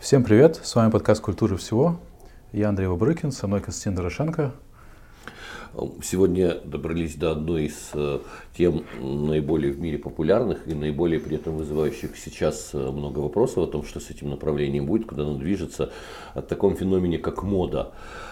Всем привет, с вами подкаст «Культура всего». Я Андрей Вабрыкин, со мной Константин Дорошенко. Сегодня добрались до одной из тем наиболее в мире популярных и наиболее при этом вызывающих сейчас много вопросов о том, что с этим направлением будет, куда оно движется, о таком феномене, как мода.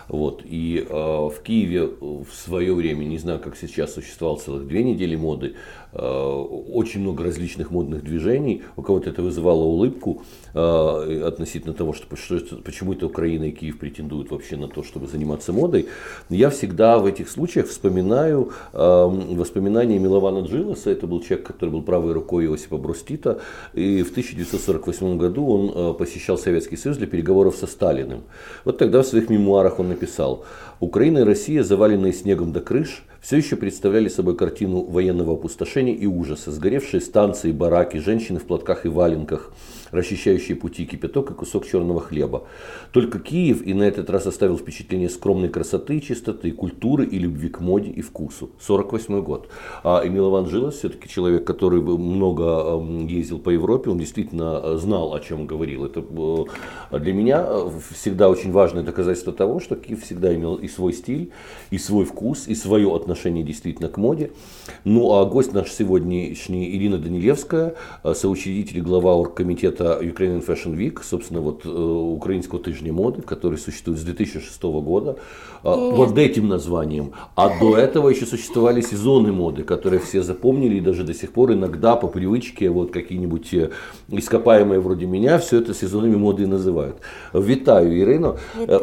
И в Киеве в свое время, не знаю, как сейчас, существовало целых 2 недели моды, очень много различных модных движений. У кого-то это вызывало улыбку относительно того, почему это Украина и Киев претендуют вообще на то, чтобы заниматься модой. Я всегда в этих случаях вспоминаю воспоминания Милована Джиласа. Это был человек, который был правой рукой Иосипа Брос Тита. И в 1948 году он посещал Советский Союз для переговоров со Сталиным. Вот тогда в своих мемуарах он написал: «Украина и Россия, заваленные снегом до крыш, все еще представляли собой картину военного опустошения и ужаса. Сгоревшие станции, бараки, женщины в платках и валенках, расчищающие пути, кипяток и кусок черного хлеба. Только Киев и на этот раз оставил впечатление скромной красоты, чистоты, культуры и любви к моде и вкусу». 1948 год. И Милован Джилас, все-таки человек, который много ездил по Европе, он действительно знал, о чем говорил. Это для меня всегда очень важное доказательство того, что Киев всегда имел и свой стиль, и свой вкус, и свое отношение действительно к моде. А гость наш сегодняшний Ирина Данилевская, соучредитель и глава оргкомитета Ukrainian Fashion Week, собственно, украинского тижня моды, который существует с 2006 года, под этим названием. А до этого еще существовали сезоны моды, которые все запомнили и даже до сих пор иногда по привычке какие-нибудь ископаемые вроде меня все это сезонами моди і називають. Вітаю, Ірино.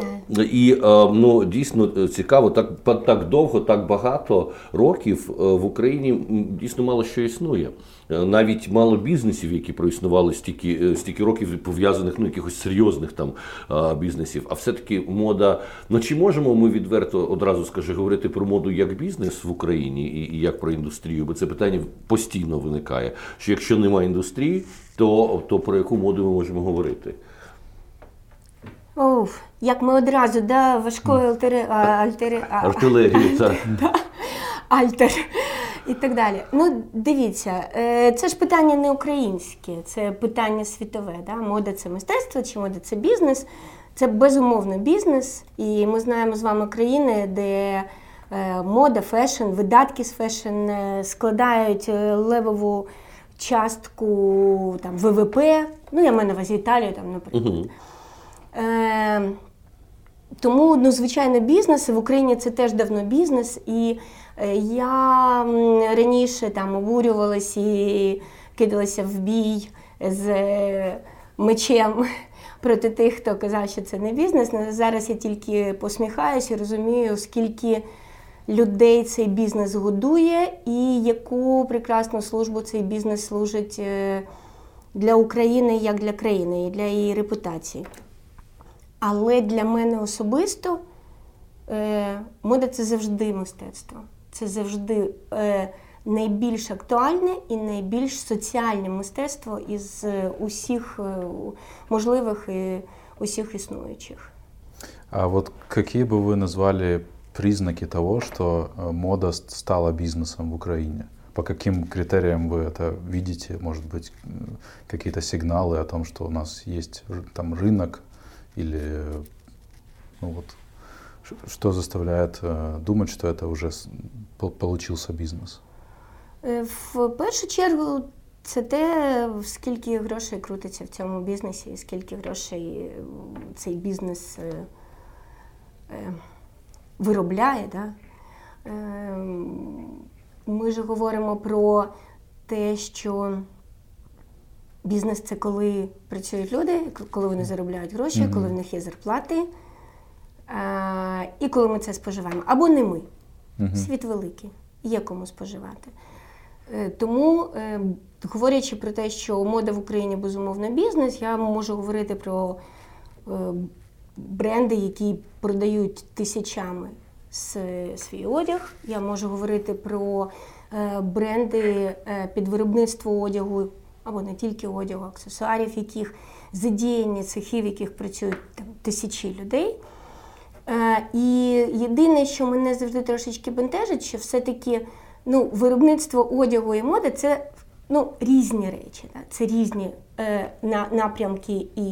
І дійсно цікаво, так довго, так багато років в Україні дійсно мало що існує. Навіть мало бізнесів, які проіснували стільки років, пов'язаних, якихось серйозних бізнесів. А все-таки мода, чи можемо ми відверто, одразу говорити про моду як бізнес в Україні і як про індустрію? Бо це питання постійно виникає, що якщо немає індустрії, то про яку моду ми можемо говорити? Як ми одразу, важкої артилерії, так. Альтер і так далі. Дивіться, це ж питання не українське, це питання світове. Мода – це мистецтво чи мода – це бізнес? Це безумовно бізнес, і ми знаємо з вами країни, де мода, фешн, видатки з фешн складають левову частку ВВП, я маю на увазі Італію, наприклад. Тому, звичайно, бізнес, в Україні це теж давно бізнес, і я раніше обурювалася і кидалася в бій з мечем проти тих, хто казав, що це не бізнес. Зараз я тільки посміхаюся і розумію, скільки людей цей бізнес годує і яку прекрасну службу цей бізнес служить для України, як для країни, і для її репутації. Але для мене особисто мода – це завжди мистецтво. Це завжди найбільш актуальне і найбільш соціальне мистецтво із усіх можливих і усіх існуючих. А какие бы вы назвали признаки того, что мода стала бизнесом в Украине? По каким критериям вы это видите? Может быть, какие-то сигналы о том, что у нас есть рынок? Или что заставляет думать, что это уже получился бізнес? В першу чергу, це те, скільки грошей крутиться в цьому бізнесі, і скільки грошей цей бізнес виробляє. Ми ж говоримо про те, що бізнес – це коли працюють люди, коли вони заробляють гроші, коли в них є зарплати, і коли ми це споживаємо. Або не ми. Світ великий, є кому споживати. Тому, говорячи про те, що мода в Україні безумовно бізнес, я можу говорити про бренди, які продають тисячами свій одяг. Я можу говорити про бренди під виробництво одягу, або не тільки одягу, аксесуарів, яких задіяні цехів, в яких працюють тисячі людей. І єдине, що мене завжди трошечки бентежить, що все-таки виробництво одягу і моди – це різні речі. Це різні напрямки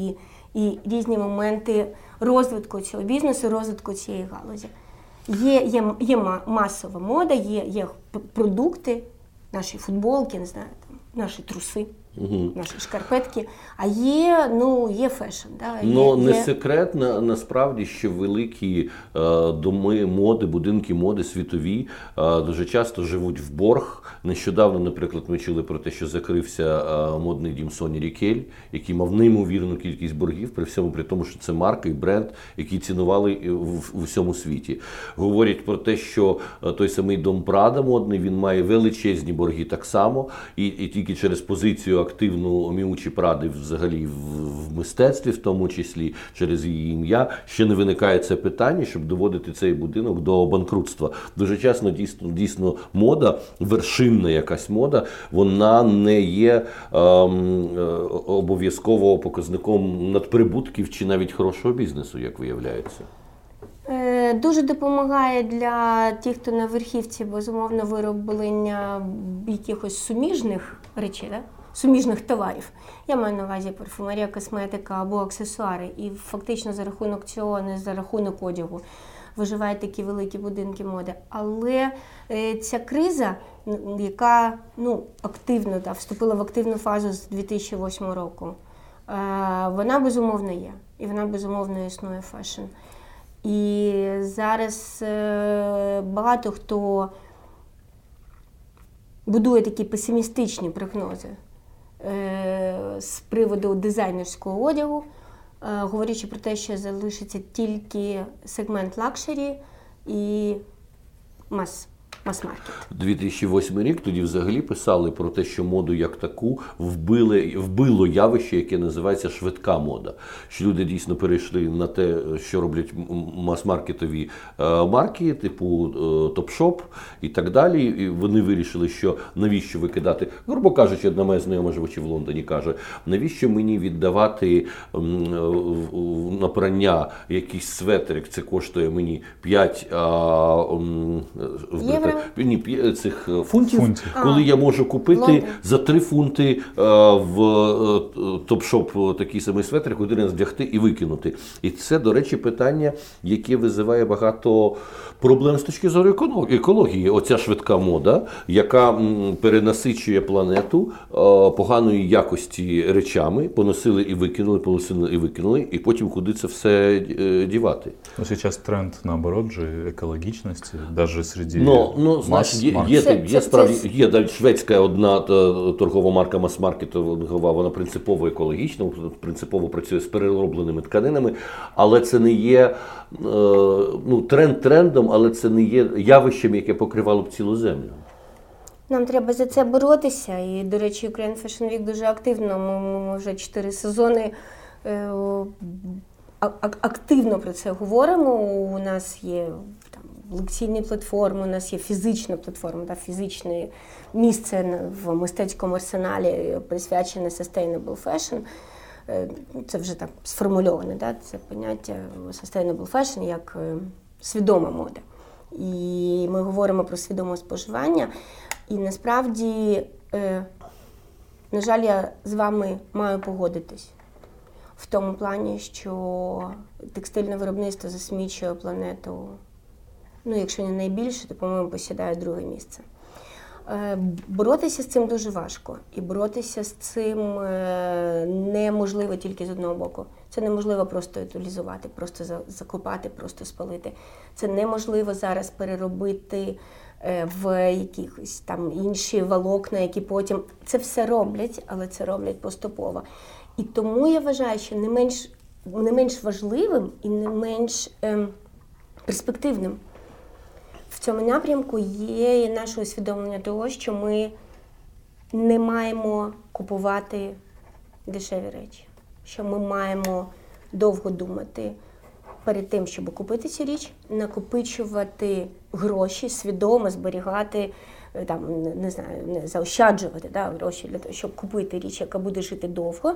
і різні моменти розвитку цього бізнесу, розвитку цієї галузі. Є масова мода, є продукти, наші футболки, не знаю, там, наші труси. Наші шкарпетки, а є фешн. Да? Не секрет, насправді, що великі доми моди, будинки моди світові дуже часто живуть в борг. Нещодавно, наприклад, ми чули про те, що закрився модний дім Соні Рікель, який мав неймовірну кількість боргів, при тому, що це марка і бренд, які цінували в усьому світі. Говорять про те, що той самий дом Прада модний, він має величезні борги так само, і тільки через позицію активну Міучі Пради взагалі в мистецтві, в тому числі через її ім'я, ще не виникає це питання, щоб доводити цей будинок до банкрутства. Дуже часто дійсно мода, вершинна якась мода, вона не є обов'язково показником надприбутків чи навіть хорошого бізнесу, як виявляється. Дуже допомагає для тих, хто на верхівці, безумовно, вироблення якихось суміжних речей, да? Суміжних товарів. Я маю на увазі парфумерія, косметика або аксесуари. І фактично за рахунок цього, не за рахунок одягу, виживають такі великі будинки моди. Але ця криза, яка активно вступила в активну фазу з 2008 року, вона безумовно є. І вона безумовно існує фешн. І зараз багато хто будує такі песимістичні прогнози з приводу дизайнерського одягу, говорячи про те, що залишиться тільки сегмент лакшері і мас-маркет. 2008 рік, тоді взагалі писали про те, що моду як таку вбило явище, яке називається швидка мода. Що люди дійсно перейшли на те, що роблять мас-маркетові марки, типу Топ-Шоп і так далі. І вони вирішили, що навіщо викидати, грубо кажучи, одна моя знайома, живучи в Лондоні, каже, навіщо мені віддавати на прання якийсь светрик, це коштує мені 5 цих фунтів, коли я можу купити за 3 фунти в Топ-Шоп такий самий светрик, один раз вдягти і викинути. І це, до речі, питання, яке визиває багато проблем з точки зору екології. Оця швидка мода, яка перенасичує планету поганої якості речами, поносили і викинули, і потім куди це все дівати. Сейчас тренд, наоборот, же екологічності, навіть серед є навіть шведська одна торгова марка мас-маркетова, вона принципово екологічна, принципово працює з переробленими тканинами, але це не є тренд трендом, але це не є явищем, яке покривало б цілу землю. Нам треба за це боротися. І, до речі, Ukraine Fashion Week дуже активно. Ми вже 4 сезони активно про це говоримо. У нас є лекційні платформи, у нас є фізична платформа, фізичне місце в мистецькому арсеналі, присвячене Sustainable Fashion. Це вже так сформульоване, це поняття Sustainable Fashion як свідома мода. І ми говоримо про свідоме споживання. І насправді, на жаль, я з вами маю погодитись в тому плані, що текстильне виробництво засмічує планету, якщо не найбільше, то, по-моєму, посідає друге місце. Боротися з цим дуже важко. І боротися з цим неможливо тільки з одного боку. Це неможливо просто утилізувати, просто закопати, просто спалити. Це неможливо зараз переробити в якихось там інші волокна, які потім... Це все роблять, але це роблять поступово. І тому я вважаю, що не менш важливим і не менш перспективним в цьому напрямку є і наше усвідомлення того, що ми не маємо купувати дешеві речі. Що ми маємо довго думати перед тим, щоб купити цю річ, накопичувати гроші, свідомо зберігати, не заощаджувати гроші для того, щоб купити річ, яка буде жити довго.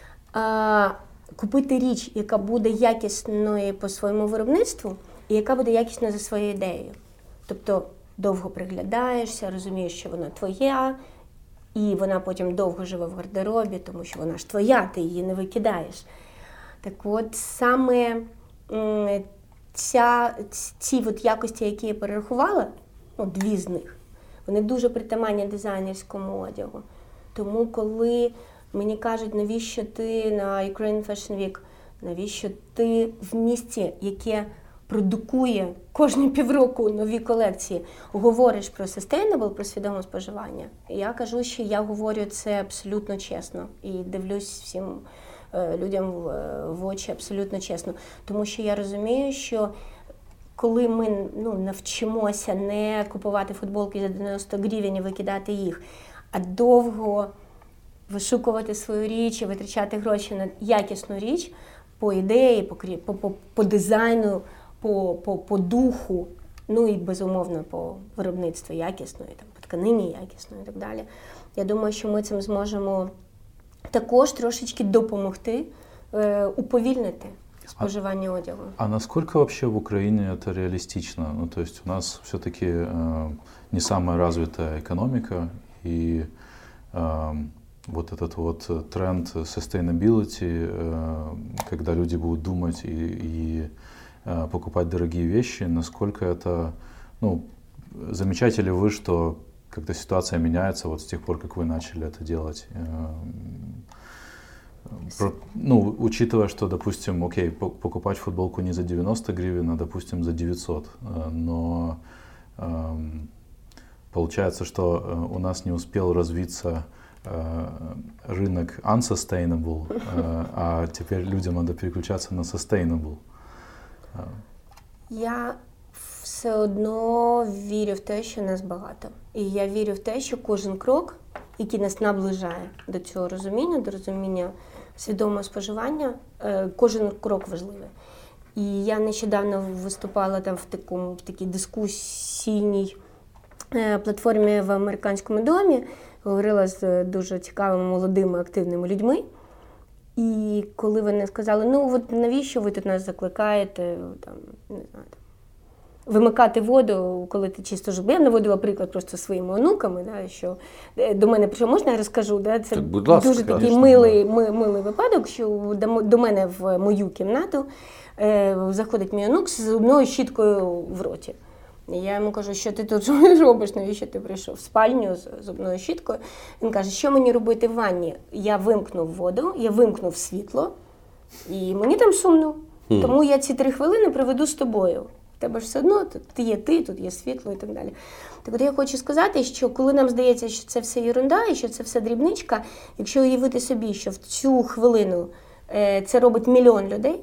Купити річ, яка буде якісною по своєму виробництву і яка буде якісною за своєю ідеєю. Тобто довго приглядаєшся, розумієш, що вона твоя, і вона потім довго живе в гардеробі, тому що вона ж твоя, ти її не викидаєш. Так от саме ці от якості, які я перерахувала, дві з них, вони дуже притаманні дизайнерському одягу. Тому коли мені кажуть, навіщо ти на Ukraine Fashion Week, навіщо ти в місті, яке продукує кожні півроку нові колекції, говориш про sustainable, про свідоме споживання. Я кажу, що я говорю це абсолютно чесно і дивлюсь всім людям в очі абсолютно чесно. Тому що я розумію, що коли ми навчимося не купувати футболки за 90 гривень і викидати їх, а довго вишукувати свою річ і витрачати гроші на якісну річ, по ідеї, по дизайну, по духу, і безумовно по виробництву якісної, по тканині якісної і так далі. Я думаю, що ми цим зможемо також трошечки допомогти уповільнити споживание одягу. А насколько вообще в Украине это реалистично? То есть у нас все-таки не самая развитая экономика, и вот этот вот тренд sustainability, когда люди будут думать и покупать дорогие вещи, насколько это, замечаете ли вы, что как-то ситуация меняется вот с тех пор, как вы начали это делать? Учитывая, что, допустим, окей, покупать футболку не за 90 гривен, а, допустим, за 900, но получается, что у нас не успел развиться рынок unsustainable, а теперь людям надо переключаться на sustainable. Я все одно вірю в те, що нас багато. І я вірю в те, що кожен крок, який нас наближає до цього розуміння, до розуміння свідомого споживання, кожен крок важливий. І я нещодавно виступала там в такій дискусійній платформі в Американському домі, говорила з дуже цікавими, молодими, активними людьми. І коли вони сказали, навіщо ви тут нас закликаєте, вимикати воду, коли ти чисто живеш. Я наводила приклад просто своїми онуками, що до мене прийшов, можна я розкажу? Це дуже такий милий випадок, що до мене в мою кімнату заходить мій онук з зубною щіткою в роті. Я йому кажу, що ти тут робиш, навіщо ти прийшов в спальню з зубною щіткою. Він каже, що мені робити в ванні? Я вимкнув воду, я вимкнув світло, і мені там сумно. Тому я ці 3 хвилини проведу з тобою. В тебе ж все одно, тут є світло і так далі. Так от я хочу сказати, що коли нам здається, що це все єрунда і що це все дрібничка, якщо уявити собі, що в цю хвилину це робить 1 мільйон людей,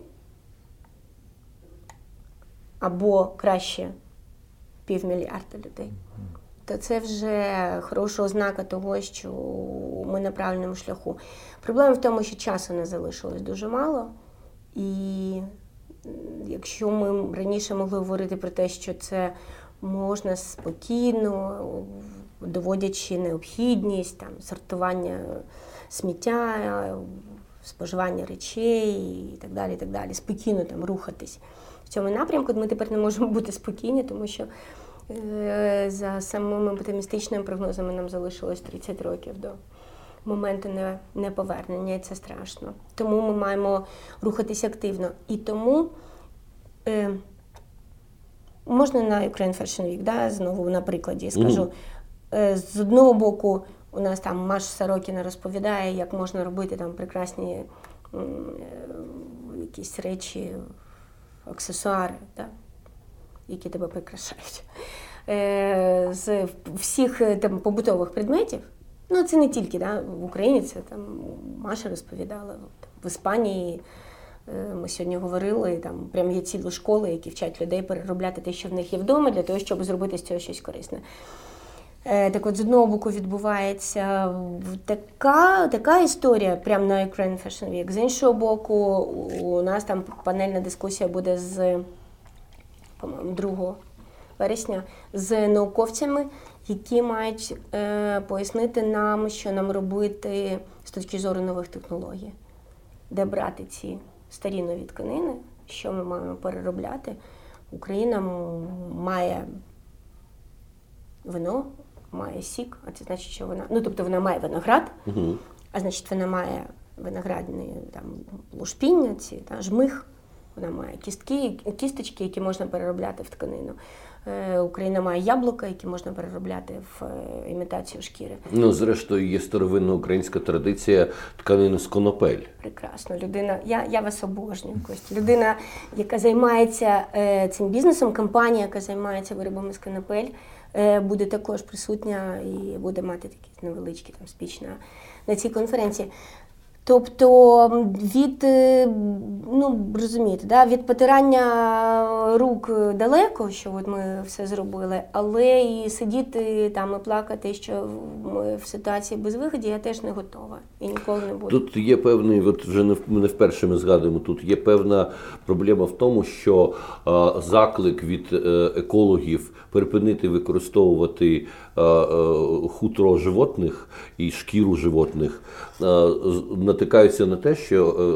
або краще 500 мільйона людей, то це вже хороша ознака того, що ми на правильному шляху. Проблема в тому, що часу не залишилось дуже мало, і якщо ми раніше могли говорити про те, що це можна спокійно, доводячи необхідність, сортування сміття, споживання речей і так далі, спокійно рухатись в цьому напрямку, ми тепер не можемо бути спокійні, тому що за самими оптимістичними прогнозами нам залишилось 30 років до моменту неповернення, і це страшно. Тому ми маємо рухатися активно. І тому можна на Ukraine Fashion Week, знову на прикладі скажу. З одного боку, у нас там Маша Сорокіна розповідає, як можна робити там прекрасні якісь речі, аксесуари, які тебе прикрашають. З всіх там побутових предметів. Це не тільки в Україні, це там Маша розповідала. В Іспанії ми сьогодні говорили, там прям є цілі школи, які вчать людей переробляти те, що в них є вдома, для того, щоб зробити з цього щось корисне. Так от, з одного боку відбувається така історія прямо на Ukraine Fashion Week. З іншого боку, у нас там панельна дискусія буде з, по-моєму, 2 вересня, з науковцями, які мають пояснити нам, що нам робити з точки зору нових технологій. Де брати ці старі нові тканини, що ми маємо переробляти. Україна має вино, має сік, а це значить, що вона... тобто вона має виноград, а значить, вона має виноградні там лушпіння, ці жмих. Вона має кісточки, які можна переробляти в тканину. Україна має яблука, які можна переробляти в імітацію шкіри. Ну, зрештою, є старовинна українська традиція тканини з конопель. Прекрасно. Людина, я вас обожнюю, Костя. Людина, яка займається цим бізнесом, компанія, яка займається виробами з конопель, буде також присутня і буде мати такі невеличкі там спіч на цій конференції. Тобто від, розумієте, да, від потирання рук далеко, що от ми все зробили, але і сидіти там і плакати, що ми в ситуації безвиході, я теж не готова і ніколи не буду. Тут є певний, от вже не вперше ми згадуємо, тут є певна проблема в тому, що заклик від екологів припинити використовувати хутро животних і шкіру животних натикаються на те,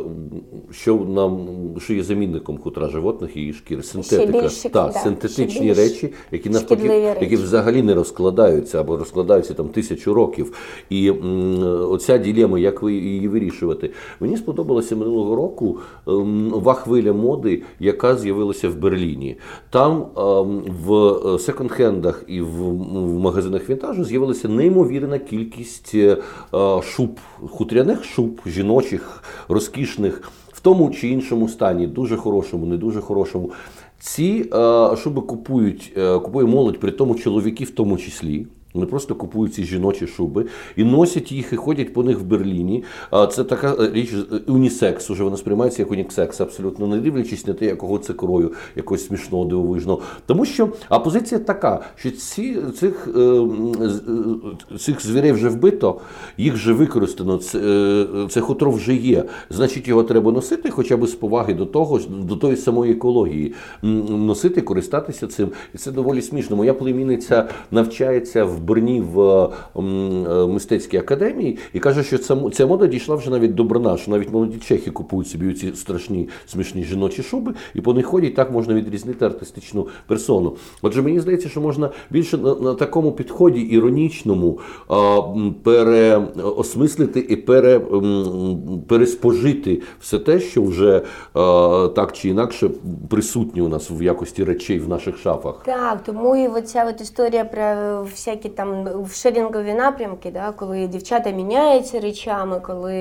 що є замінником хутра животних і її шкіри. Синтетика, синтетичні речі, які взагалі не розкладаються або розкладаються там 1000 років. І оця дилема, як її вирішувати. Мені сподобалася минулого року нова хвиля моди, яка з'явилася в Берліні. Там в секонд-хендах і в магазинах вінтажу з'явилася неймовірна кількість шуб, хутряних шуб, жіночих, розкішних, в тому чи іншому стані, дуже хорошому, не дуже хорошому. Ці шуби купує молодь, при тому чоловіки в тому числі. Вони просто купують ці жіночі шуби і носять їх, і ходять по них в Берліні. Це така річ унісекс, уже вона сприймається як унісекс, абсолютно не дивлячись на те, якого це крою, якогось смішного, дивовижного. Тому що позиція така, що цих звірей вже вбито, їх вже використано, це хутро вже є. Значить, його треба носити хоча б з поваги до тої самої екології. Носити, користатися цим. І це доволі смішно. Моя племінниця навчається в Берні в мистецькій академії і каже, що ця мода дійшла вже навіть до Брна, що навіть молоді чехи купують собі ці страшні, смішні жіночі шуби, і по них ходять, так можна відрізнити артистичну персону. Отже, мені здається, що можна більше на такому підході іронічному переосмислити і переспожити все те, що вже так чи інакше присутнє у нас в якості речей в наших шафах. Так, тому і оця історія про всякі там шерінгові напрямки, да, коли дівчата міняються речами, коли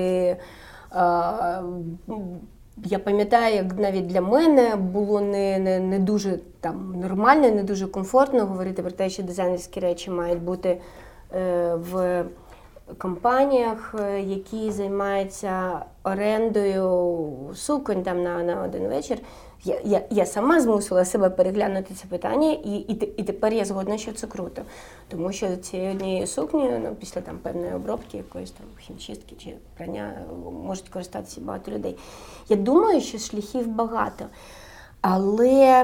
я пам'ятаю, як навіть для мене було не дуже там нормально, не дуже комфортно говорити про те, що дизайнерські речі мають бути в компаніях, які займаються орендою суконь там на один вечір. Я сама змусила себе переглянути це питання, і тепер я згодна, що це круто. Тому що цієї однієї сукні, після там певної обробки, якоїсь там хімчистки чи прання, можуть користатися багато людей. Я думаю, що шляхів багато, але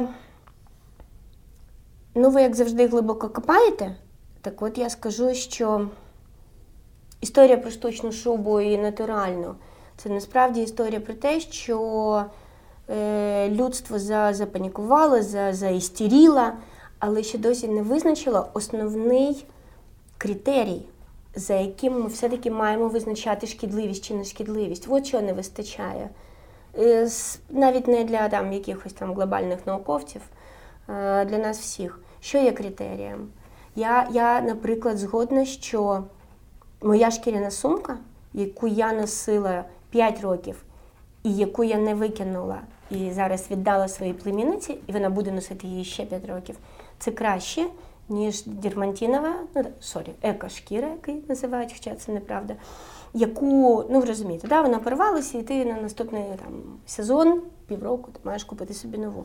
ви, як завжди, глибоко копаєте. Так от я скажу, що історія про штучну шубу і натуральну – це насправді історія про те, що людство запанікувало, заістеріло, але ще досі не визначило основний критерій, за яким ми все-таки маємо визначати шкідливість чи нешкідливість. От чого не вистачає. Навіть не для там якихось там глобальних науковців, для нас всіх. Що є критерієм? Я, наприклад, згодна, що моя шкіряна сумка, яку я носила 5 років, і яку я не викинула, і зараз віддала своїй племінниці, і вона буде носити її ще 5 років, це краще, ніж дермантинова, еко-шкіра, яку називають, хоча це неправда, яку, ви розумієте, да, вона порвалася, і ти на наступний там сезон, півроку, ти маєш купити собі нову.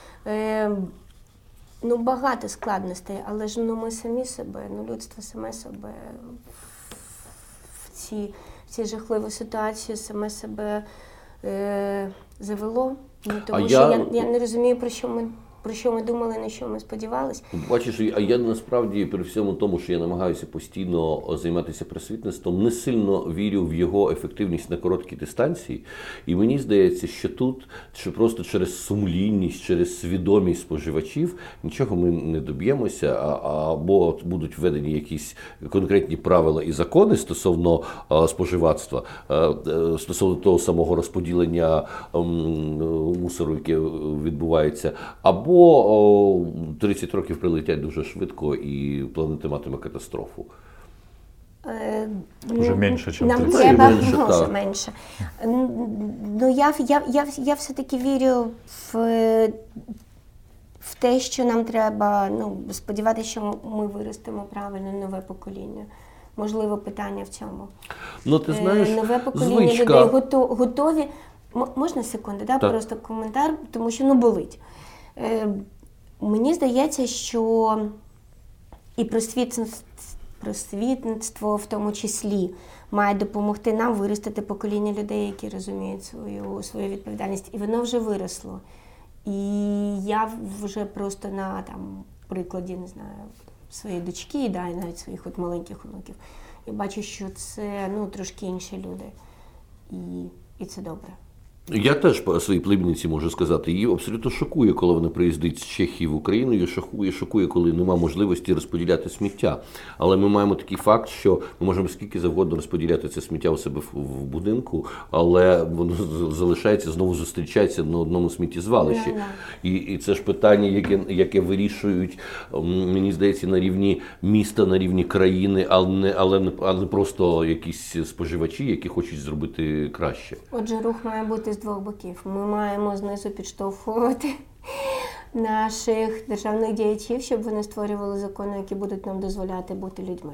Багато складностей, але ж ми самі себе, людство саме себе в ці жахливі ситуації саме себе завело. Тому що я не розумію, про що ми про що ми думали, на що ми сподівалися. Бачиш, а я насправді при всьому тому, що я намагаюся постійно займатися просвітництвом, не сильно вірю в його ефективність на короткій дистанції. І мені здається, що тут, що просто через сумлінність, через свідомість споживачів нічого ми не доб'ємося, або будуть введені якісь конкретні правила і закони стосовно споживацтва, стосовно того самого розподілення мусору, яке відбувається, або 30 років прилетять дуже швидко і планета матиме катастрофу. Уже менше, ніж 30. Нам треба Менше, менше. Ну, я все-таки вірю в те, що нам треба сподіватися, що ми виростемо правильно нове покоління. Можливо, питання в цьому. Ну, ти знаєш, нове покоління людей готові. Можна секунду, да? Просто коментар, тому що болить. Мені здається, що і просвітництво в тому числі має допомогти нам виростити покоління людей, які розуміють свою відповідальність. І воно вже виросло. І я вже просто на прикладі, не знаю, своєї дочки, і навіть своїх маленьких онуків, я бачу, що це трошки інші люди. І це добре. Я теж по своїй племінниці можу сказати, її абсолютно шокує, коли вона приїздить з Чехії в Україну, її шокує, коли нема можливості розподіляти сміття. Але ми маємо такий факт, що ми можемо скільки завгодно розподіляти це сміття у себе в будинку, але воно залишається, знову зустрічається на одному сміттєзвалищі. І це ж питання, яке вирішують, мені здається, на рівні міста, на рівні країни, але не просто якісь споживачі, які хочуть зробити краще. Отже, рух має бути з двох боків. Ми маємо знизу підштовхувати наших державних діячів, щоб вони створювали закони, які будуть нам дозволяти бути людьми.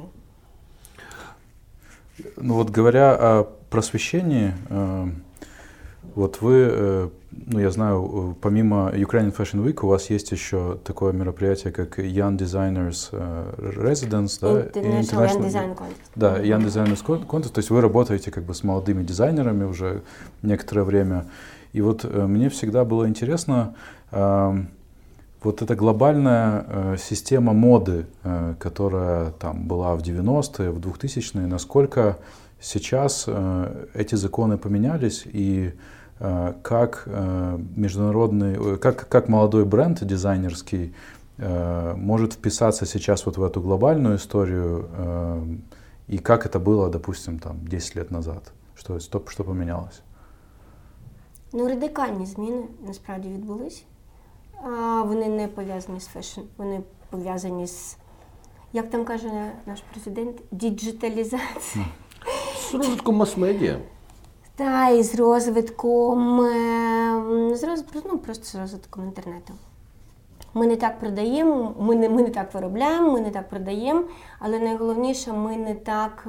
Ну вот говоря о просвещении, вот вы, я знаю, помимо Ukrainian Fashion Week у вас есть еще такое мероприятие, как Young Designers Residence, да? International Young Design Contest. Да, Young Designers Contest, то есть вы работаете как бы с молодыми дизайнерами уже некоторое время. И вот мне всегда было интересно, вот эта глобальная система моды, которая там была в 90-е, в 2000-е, насколько сейчас эти законы поменялись и как международный, как молодой бренд дизайнерский может вписаться сейчас вот в эту глобальную историю и как это было, допустим, там 10 лет назад, что поменялось? Радикальні зміни насправді відбулись. Вони не пов'язані з фешн, вони пов'язані з, як там каже наш президент, діджиталізацією. З розвитком мас-медіа. Та, і з розвитком, просто з розвитком інтернету. Ми не так продаємо, ми не так виробляємо, ми не так продаємо, але найголовніше, ми не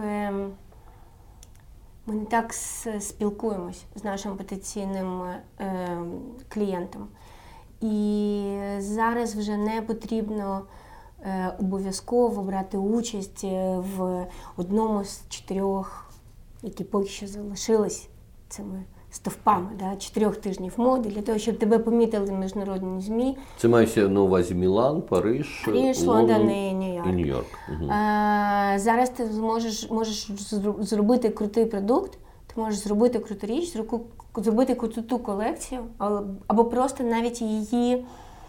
так спілкуємось з нашим потенційним клієнтом. І зараз вже не потрібно обов'язково брати участь в одному з 4, які поки що залишились цими стовпами, 4 тижнів моди, для того, щоб тебе помітили міжнародні ЗМІ. Це мається на увазі Мілан, Париж, Лондон і Нью-Йорк. Нью-Йорк. Угу. Зараз ти можеш зробити крутий продукт, ти можеш зробити круту річ, зробити круту колекцію, або просто навіть її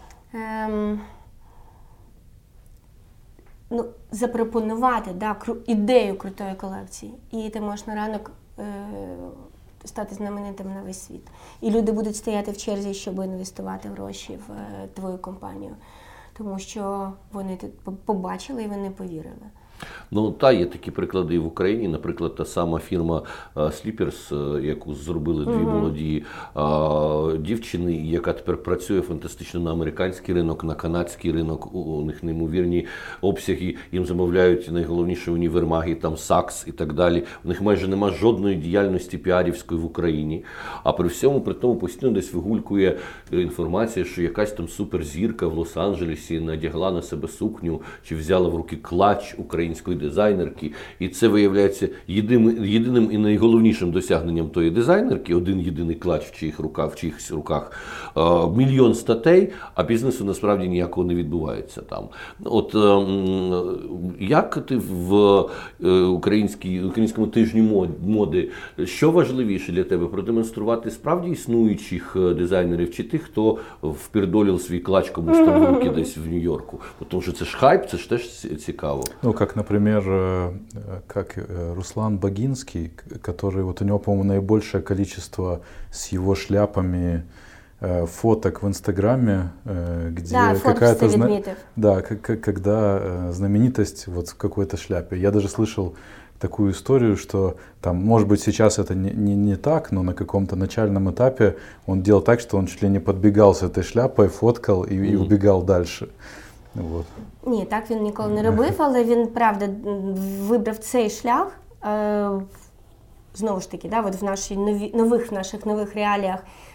запропонувати, ідею крутої колекції. І ти можеш на ранок стати знаменитим на весь світ. І люди будуть стояти в черзі, щоб інвестувати гроші в твою компанію. Тому що вони тут побачили і вони повірили. Є такі приклади і в Україні. Наприклад, та сама фірма Sleepers, яку зробили дві молоді дівчини, яка тепер працює фантастично на американський ринок, на канадський ринок. У них неймовірні обсяги, їм замовляють найголовніші універмаги, там Saks і так далі. У них майже нема жодної діяльності піарівської в Україні. А при тому постійно десь вигулькує інформація, що якась там суперзірка в Лос-Анджелесі надягла на себе сукню чи взяла в руки клач український української дизайнерки. І це виявляється єдиним і найголовнішим досягненням тої дизайнерки, один єдиний клач в чиїхось руках, мільйон статей, а бізнесу насправді ніякого не відбувається там. От як ти в українському тижні моди, що важливіше для тебе, продемонструвати справді існуючих дизайнерів чи тих, хто впірдолив свій клач комусь там в руки десь в Нью-Йорку? Тому що це ж хайп, це ж теж цікаво. Ну, как, например, как Руслан Багинский, который, вот у него, по-моему, наибольшее количество с его шляпами фоток в Инстаграме, где какая-то когда знаменитость вот в какой-то шляпе. Я даже слышал такую историю, что там, может быть, сейчас это не так, но на каком-то начальном этапе он делал так, что он чуть ли не подбегал с этой шляпой, фоткал и убегал дальше. Вот. Ні, так він ніколи не робив, але він, правда, вибрав цей шлях. Знову ж таки, да, от в наших нових реаліях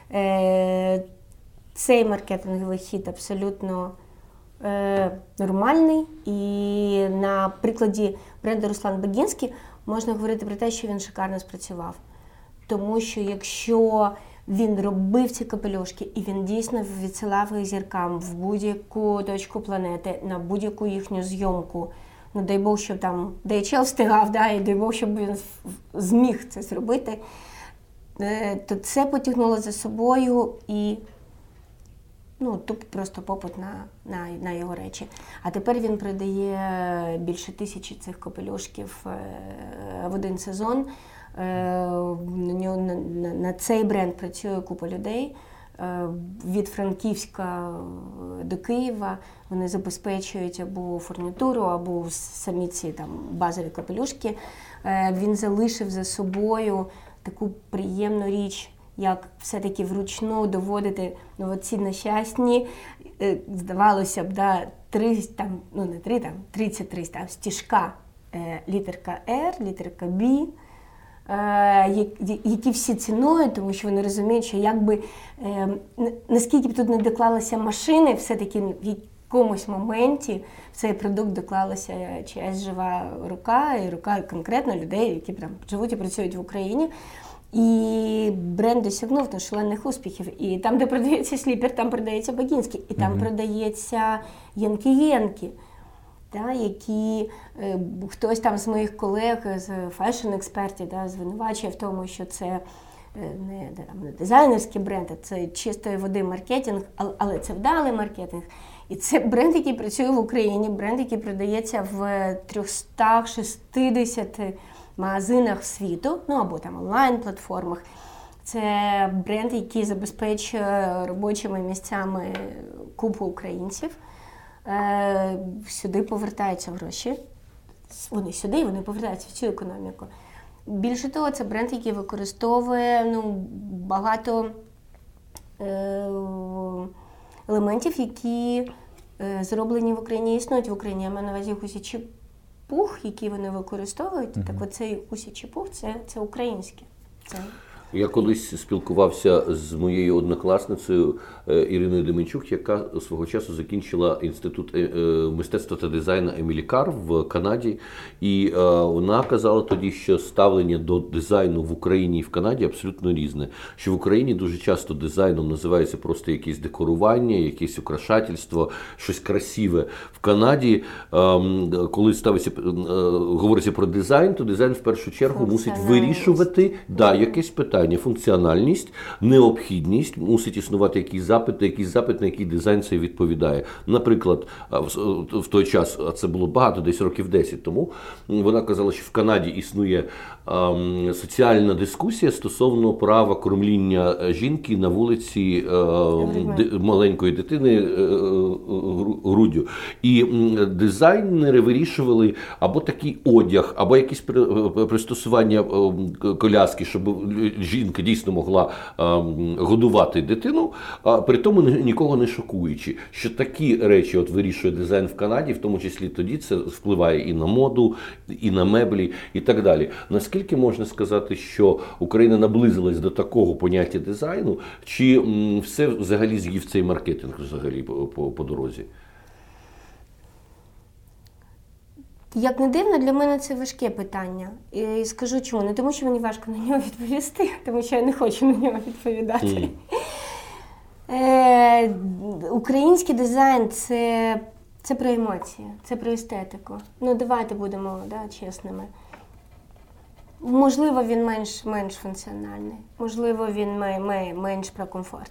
цей маркетинговий хід абсолютно нормальний. І на прикладі бренду Руслан Багінський можна говорити про те, що він шикарно спрацював. Тому що якщо він робив ці капелюшки, і він дійсно відсилав їх зіркам в будь-яку точку планети, на будь-яку їхню зйомку. Ну, дай Бог, щоб там DHL встигав, да, і дай Бог, щоб він зміг це зробити, то це потягнуло за собою і просто попит на його речі. А тепер він продає більше 1000 цих капелюшків в один сезон. На цей бренд працює купа людей. Від Франківська до Києва вони забезпечують або фурнітуру, або самі ці там базові капелюшки. Він залишив за собою таку приємну річ, як все-таки вручну доводити ці нещасні, здавалося б, 33 стіжка, літерка R, літерка B, які всі цінують, тому що вони розуміють, що якби, наскільки б тут не доклалися машини, все-таки в якомусь моменті в цей продукт доклалася чиясь жива рука, і рука конкретно людей, які прям живуть і працюють в Україні. І бренд досягнув шалених успіхів. І там, де продається Сліпер, там продається Багінський, і там продається Янкі-Єнкі. Які хтось там з моїх колег, з фешн-експертів, звинувачує в тому, що це не дизайнерський бренд, а це чистої води маркетинг, але це вдалий маркетинг. І це бренд, який працює в Україні, бренд, який продається в 360 магазинах світу, або там онлайн-платформах. Це бренд, який забезпечує робочими місцями купу українців. Сюди повертаються гроші. Вони сюди, вони повертаються в цю економіку. Більше того, це бренд, який використовує багато елементів, які зроблені в Україні, існують в Україні. Я маю на увазі гусячий пух, який вони використовують. Так оцей гусячий пух – це українське. Я колись спілкувався з моєю однокласницею Іриною Деменчук, яка свого часу закінчила інститут мистецтва та дизайну Емілі Карр в Канаді. І вона казала тоді, що ставлення до дизайну в Україні і в Канаді абсолютно різне. Що в Україні дуже часто дизайном називається просто якесь декорування, якесь украшательство, щось красиве. В Канаді, коли говориться про дизайн, то дизайн в першу чергу мусить вирішувати якесь питання. Функціональність, необхідність, мусить існувати якийсь запит, на який дизайн цей відповідає. Наприклад, в той час, а це було багато, десь років 10 тому, вона казала, що в Канаді існує соціальна дискусія стосовно права кормління жінки на вулиці маленької дитини груддю. І дизайнери вирішували або такий одяг, або якісь пристосування коляски, щоб жінка дійсно могла годувати дитину, при тому нікого не шокуючи. Що такі речі вирішує дизайн в Канаді, в тому числі тоді це впливає і на моду, і на меблі, і так далі. Наскільки можна сказати, що Україна наблизилась до такого поняття дизайну, чи все взагалі з'їв цей маркетинг взагалі по дорозі? Як не дивно, для мене це важке питання. І скажу чому. Не тому, що мені важко на нього відповісти, тому що я не хочу на нього відповідати. Український дизайн – це про емоції, це про естетику. Ну, давайте будемо чесними. Можливо, він менш функціональний, можливо, він менш про комфорт.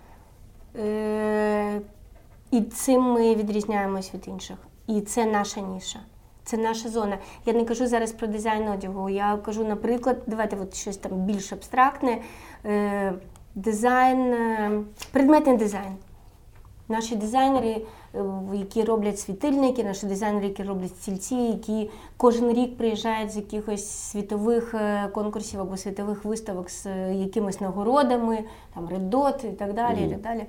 І цим ми відрізняємось від інших. І це наша ніша, це наша зона. Я не кажу зараз про дизайн одягу, я кажу, наприклад, давайте щось там більш абстрактне, дизайн, предметний дизайн. Наші дизайнери, які роблять світильники, наші дизайнери, які роблять стільці, які кожен рік приїжджають з якихось світових конкурсів або світових виставок з якимись нагородами, там Red Dot і так далі, і так далі.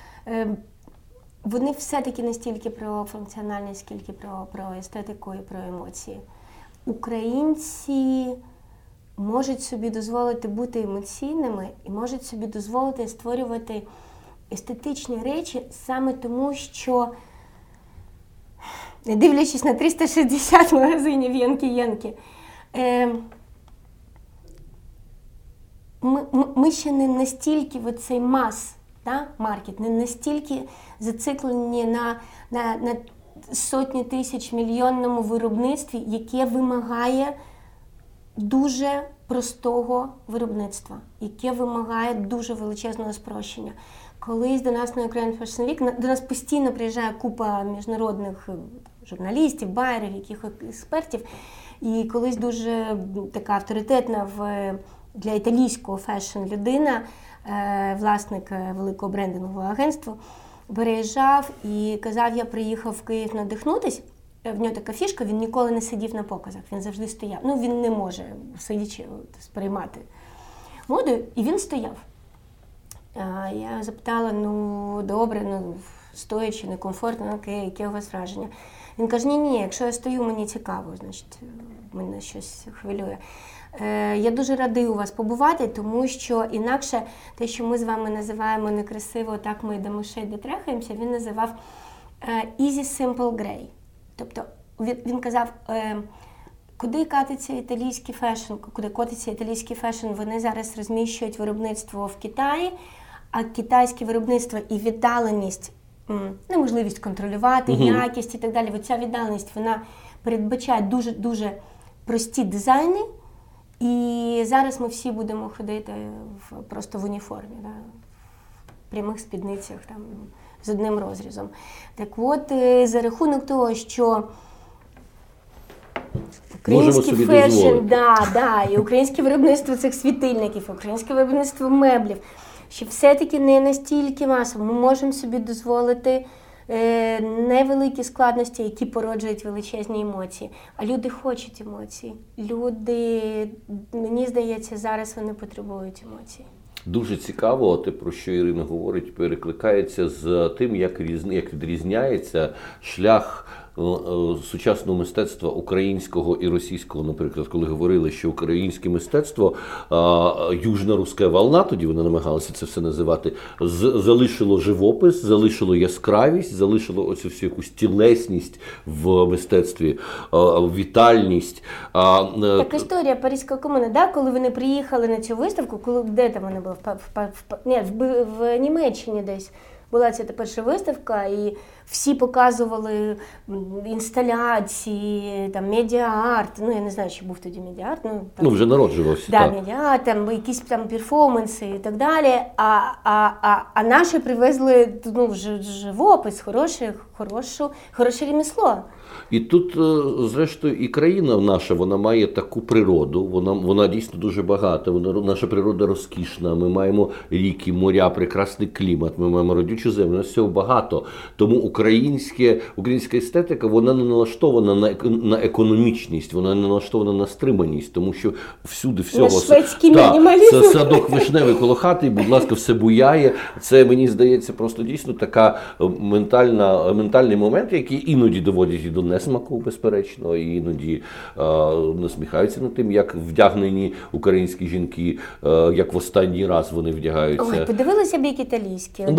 Вони все-таки не стільки про функціональність, скільки про естетику і про емоції. Українці можуть собі дозволити бути емоційними і можуть собі дозволити створювати естетичні речі саме тому, що, не дивлячись на 360 магазинів Янки-Янки, ми ще не настільки оцей маркет, не настільки зациклені на сотні тисяч мільйонному виробництві, яке вимагає дуже простого виробництва, яке вимагає дуже величезного спрощення. Колись до нас на Ukraine Fashion Week, до нас постійно приїжджає купа міжнародних журналістів, байерів, яких експертів, і колись дуже така авторитетна для італійського фешн людина, власник великого брендингового агентства, переїжджав і казав, я приїхав в Київ надихнутись. В нього така фішка, він ніколи не сидів на показах, він завжди стояв. Ну, він не може, сидячи, сприймати моду, і він стояв. Я запитала, добре, стоячи, некомфортно, окей, яке у вас враження? Він каже, ні, якщо я стою, мені цікаво, значить, мене щось хвилює. Я дуже радий у вас побувати, тому що інакше те, що ми з вами називаємо некрасиво, так ми до мишей дотрахаємося, він називав easy, simple, grey. Тобто він казав, куди котиться італійський фешн, вони зараз розміщують виробництво в Китаї, а китайське виробництво і віддаленість, неможливість контролювати, якість і так далі, оця віддаленість, вона передбачає дуже-дуже прості дизайни, і зараз ми всі будемо ходити просто в уніформі, в прямих спідницях, там, з одним розрізом. Так от, за рахунок того, що український фешн, і українське виробництво цих світильників, українське виробництво меблів, що все-таки не настільки масово. Ми можемо собі дозволити невеликі складності, які породжують величезні емоції. А люди хочуть емоцій. Люди, мені здається, зараз вони потребують емоцій. Дуже цікаво, те, про що Ірина говорить, перекликається з тим, як відрізняється шлях сучасного мистецтва українського і російського, наприклад, коли говорили, що українське мистецтво, южно-руська волна, тоді вони намагалися це все називати, залишило живопис, залишило яскравість, залишило оцю всю якусь тілесність в мистецтві, вітальність. Так історія Паризької комуни, коли вони приїхали на цю виставку, де там вони були? В Німеччині десь. Була ця перша виставка, і всі показували інсталяції, там, медіа-арт. Я не знаю, чи був тоді медіа-арт. Вже народжувався. Так, медіа-арт, там, якісь там перформанси і так далі. А наші привезли живопис, хороше ремесло. І тут, зрештою, і країна наша, вона має таку природу, вона дійсно дуже багата, наша природа розкішна, ми маємо ріки, моря, прекрасний клімат, ми маємо родючу землю, у нас всього багато. Тому українська естетика, вона не налаштована на економічність, вона не налаштована на стриманість, тому що всюди всього... Шведський мінімалізм. Це садок вишневий коло хати, будь ласка, все буяє. Це, мені здається, просто дійсно така ментальний момент, який іноді доводять і до несмаку, безперечно, і іноді насміхаються над тим, як вдягнені українські жінки, як в останній раз вони вдягаються. Ой, подивилися б, як італійські.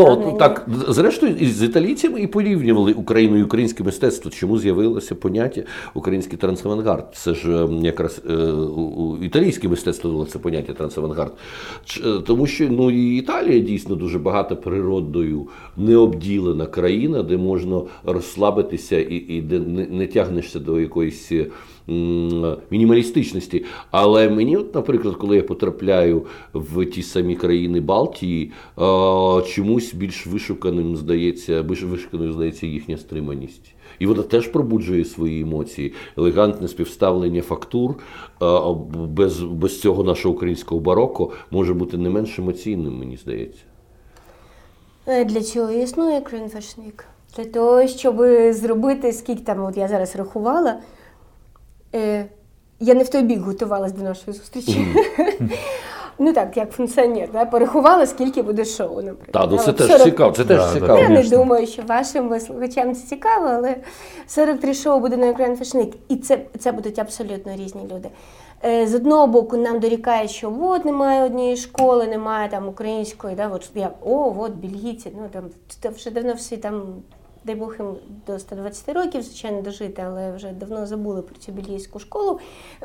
Так, зрештою, з італійцями і порівнювали Україну і українське мистецтво. Чому з'явилося поняття український трансавангард? Це ж якраз італійське мистецтво дало це поняття трансавангард. Тому що і Італія дійсно дуже багато природою необділена країна, де можна розслабитися і де не тягнешся до якоїсь мінімалістичності. Але мені, наприклад, коли я потрапляю в ті самі країни Балтії, чомусь більш вишуканою здається їхня стриманість. І вона теж пробуджує свої емоції. Елегантне співставлення фактур без цього нашого українського бароко може бути не менш емоційним, мені здається. Для цього існує Ukraine Fashion Week. Для того, щоб зробити, скільки там, от я зараз рахувала, я не в той бік готувалась до нашої зустрічі. Ну так, як функціонер, порахувала, скільки буде шоу, наприклад. Так, це теж цікаво. Я не думаю, що вашим слухачам це цікаво, але 43 шоу буде на Ukraine Fashion Week, і це будуть абсолютно різні люди. З одного боку, нам дорікають, що от немає однієї школи, немає там української, от бельгійці, там вже давно всі там, дай Бог їм до 120 років, звичайно, дожити, але вже давно забули про цю бельгійську школу,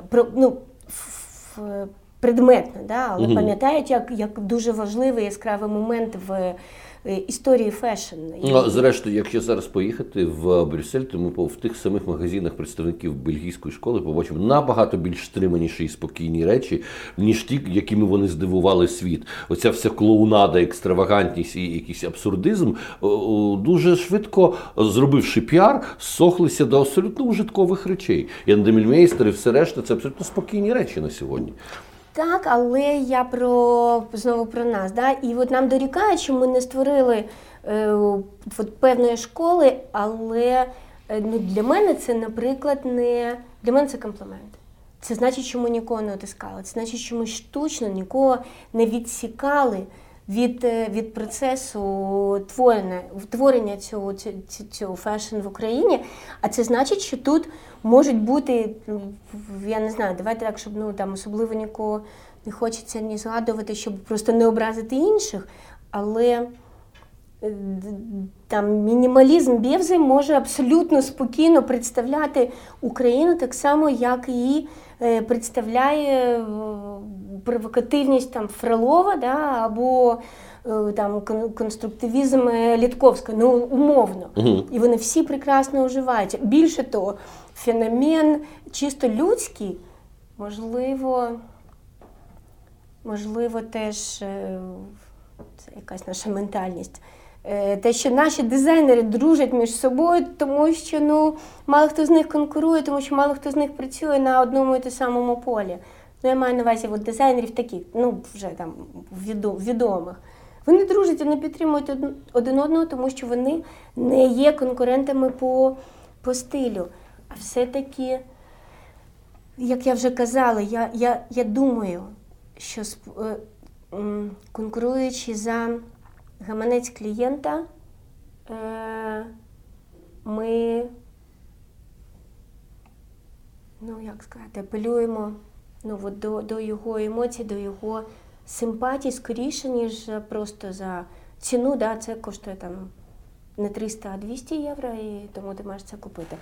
предметно, але пам'ятають, як дуже важливий яскравий момент в історії фешн. Зрештою, якщо зараз поїхати в Брюссель, то ми в тих самих магазинах представників бельгійської школи побачимо набагато більш стриманіші і спокійні речі, ніж ті, якими вони здивували світ. Оця вся клоунада, екстравагантність і якийсь абсурдизм, дуже швидко, зробивши піар, сохлися до абсолютно ужиткових речей. Ян Демільмейстер і все решта – це абсолютно спокійні речі на сьогодні. Так, але я знову про нас. Да? І от нам дорікають, що ми не створили певної школи, але для мене це, наприклад, для мене це комплімент. Це значить, що ми нікого не отискали. Це значить, що ми штучно нікого не відсікали від процесу творення цього фешн в Україні. А це значить, що тут можуть бути, я не знаю, давайте так, щоб особливо нікого не хочеться ні згадувати, щоб просто не образити інших, але там мінімалізм Бєвзи може абсолютно спокійно представляти Україну так само, як її представляє провокативність Фролова, або конструктивізм Літковська, умовно. І вони всі прекрасно уживаються. Більше того, феномен чисто людський, можливо теж це якась наша ментальність. Те, що наші дизайнери дружать між собою, тому що мало хто з них конкурує, тому що мало хто з них працює на одному і те самому полі. Я маю на увазі дизайнерів таких, вже там відомих. Вони дружать, вони підтримують один одного, тому що вони не є конкурентами по стилю. А все-таки, як я вже казала, я думаю, що конкуруючи за гаманець клієнта, ми, апелюємо до його емоцій, до його симпатій скоріше, ніж просто за ціну. Це коштує не 300, а 200 євро, і тому ти маєш це купити.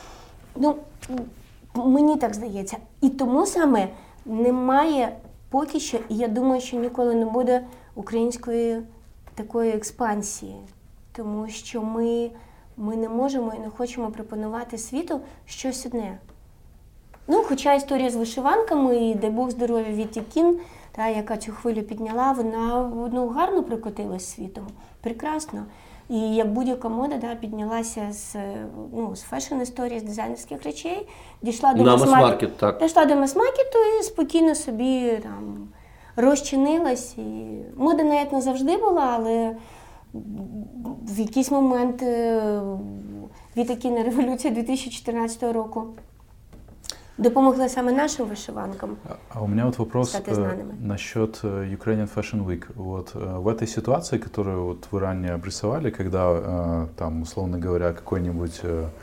Мені так здається. І тому саме немає поки що, і я думаю, що ніколи не буде української такої експансії. Тому що ми не можемо і не хочемо пропонувати світу щось одне. Хоча історія з вишиванками, і дай Бог здоров'я Віті Кін, яка цю хвилю підняла, вона гарно прикотилась світом. Прекрасно. І як будь-яка мода піднялася з фешн-історії, з дизайнерських речей, дійшла до мас-маркету і спокійно собі розчинилась. І мода навіть не завжди була, але в якийсь момент Віта Кін, революція 2014 року допомогла саме нашим вышиванкам. А у меня вопрос насчет Ukrainian Fashion Week. В этой ситуации, которую вы ранее обрисовали, когда там, условно говоря, какой-нибудь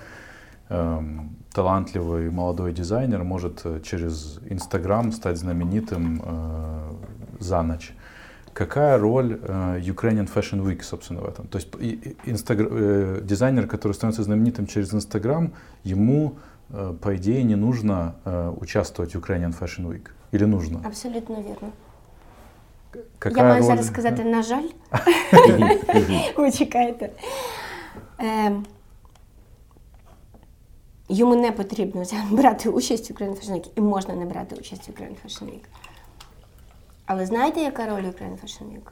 талантливый молодой дизайнер может через Инстаграм стать знаменитым за ночь. какая роль Ukrainian Fashion Week, собственно, в этом? То есть дизайнер, который становится знаменитым через Instagram, ему, по идее, не нужно участвовать в Ukrainian Fashion Week? Или нужно? Абсолютно вірно. Какая Я маю роль? зараз сказати, на жаль. Ви чекаєте. Йому не потрібно брати участь в Ukrainian Fashion Week, і можна не брати участь в Ukrainian Fashion Week. Але знаєте, яка роль Ukrainian Fashion Week?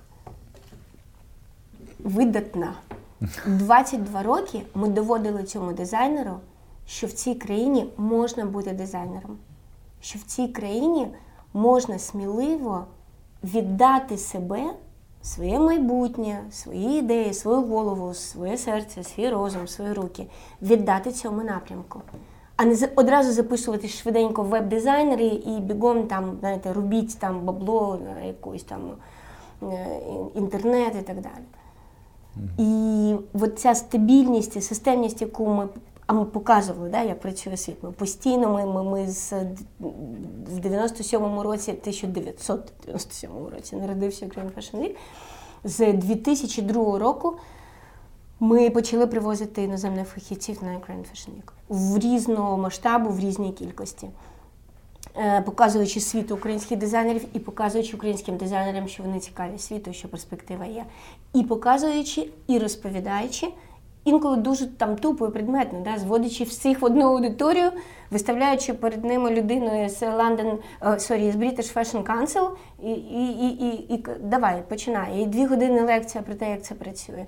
Видатна. 22 роки ми доводили цьому дизайнеру, що в цій країні можна бути дизайнером. Що в цій країні можна сміливо віддати себе, своє майбутнє, свої ідеї, свою голову, своє серце, свій розум, свої руки, віддати цьому напрямку. А не одразу записувати швиденько в веб-дизайнери і бігом там, знаєте, робіть там бабло, якийсь там інтернет і так далі. І от ця стабільність і системність, яку ми показували, да, як працює світ. Ми постійно, ми в 97-му році, 1997 році народився Ukrainian Fashion Week. З 2002 року ми почали привозити іноземних фахівців на Ukrainian Fashion Week. В різного масштабу, в різній кількості. Показуючи світу українських дизайнерів і показуючи українським дизайнерам, що вони цікаві світу, що перспектива є. І показуючи, і розповідаючи, інколи дуже там тупо і предметно, да, зводячи всіх в одну аудиторію, виставляючи перед ними людину з British Fashion Council і давай, починай. І 2 години лекція про те, як це працює.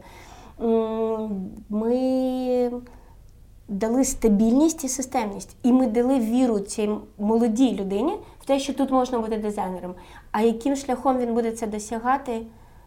Ми дали стабільність і системність. І ми дали віру цій молодій людині в те, що тут можна бути дизайнером. А яким шляхом він буде це досягати,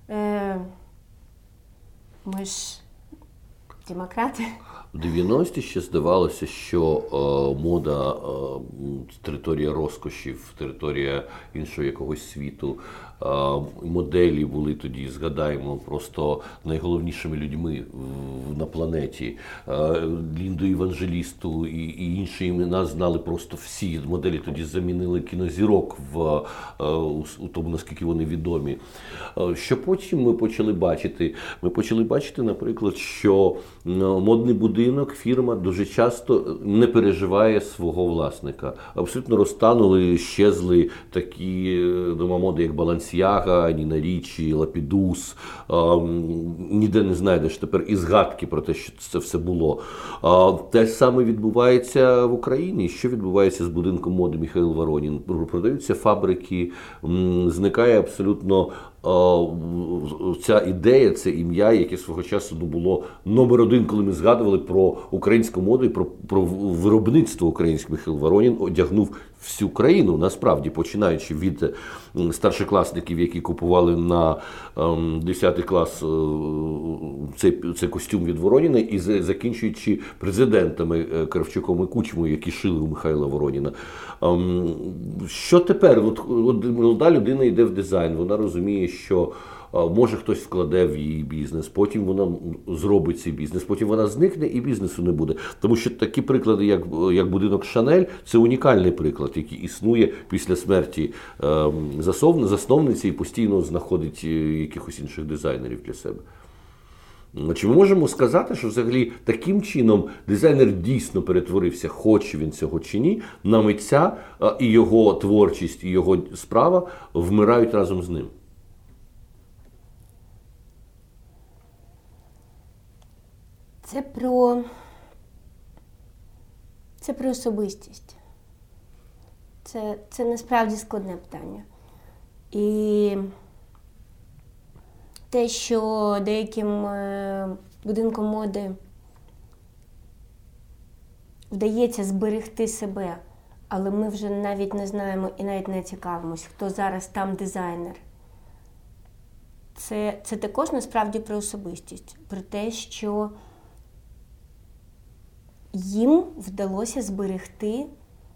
ми ж демократи. В 90-ті ще здавалося, що мода, територія розкошів, територія іншого якогось світу, моделі були тоді, згадаємо, просто найголовнішими людьми на планеті. Лінду Євангелісту і інші імена знали просто всі. Моделі тоді замінили кінозірок у тому, наскільки вони відомі. Що потім ми почали бачити? Ми почали бачити, наприклад, що модний будинок, фірма дуже часто не переживає свого власника. Абсолютно розтанули, щезли такі дома моди, як Балансіага, Ніна Річі, Лапідус. Ніде не знайдеш тепер і згадки про те, що це все було. Те саме відбувається в Україні. Що відбувається з будинком моди Михайло Воронін? Продаються фабрики, зникає абсолютно ця ідея, це ім'я, яке свого часу було номер 1, коли ми згадували про українську моду і про виробництво українських. Михайло Воронін одягнув всю країну, насправді, починаючи від старшокласників, які купували на 10 клас цей костюм від Вороніна, і закінчуючи президентами Кравчуком і Кучмою, які шили у Михайла Вороніна. Що тепер? От молода людина йде в дизайн, вона розуміє, що може хтось вкладе в її бізнес, потім вона зробить цей бізнес, потім вона зникне і бізнесу не буде. Тому що такі приклади, як будинок Шанель, це унікальний приклад, який існує після смерті засновниці і постійно знаходить якихось інших дизайнерів для себе. Чи ми можемо сказати, що взагалі таким чином дизайнер дійсно перетворився, хоче він цього чи ні, на митця, і його творчість, і його справа вмирають разом з ним? Це про особистість. Це насправді складне питання. І те, що деяким будинкам моди вдається зберегти себе, але ми вже навіть не знаємо і навіть не цікавимось, хто зараз там дизайнер. Це також насправді про особистість, про те, що їм вдалося зберегти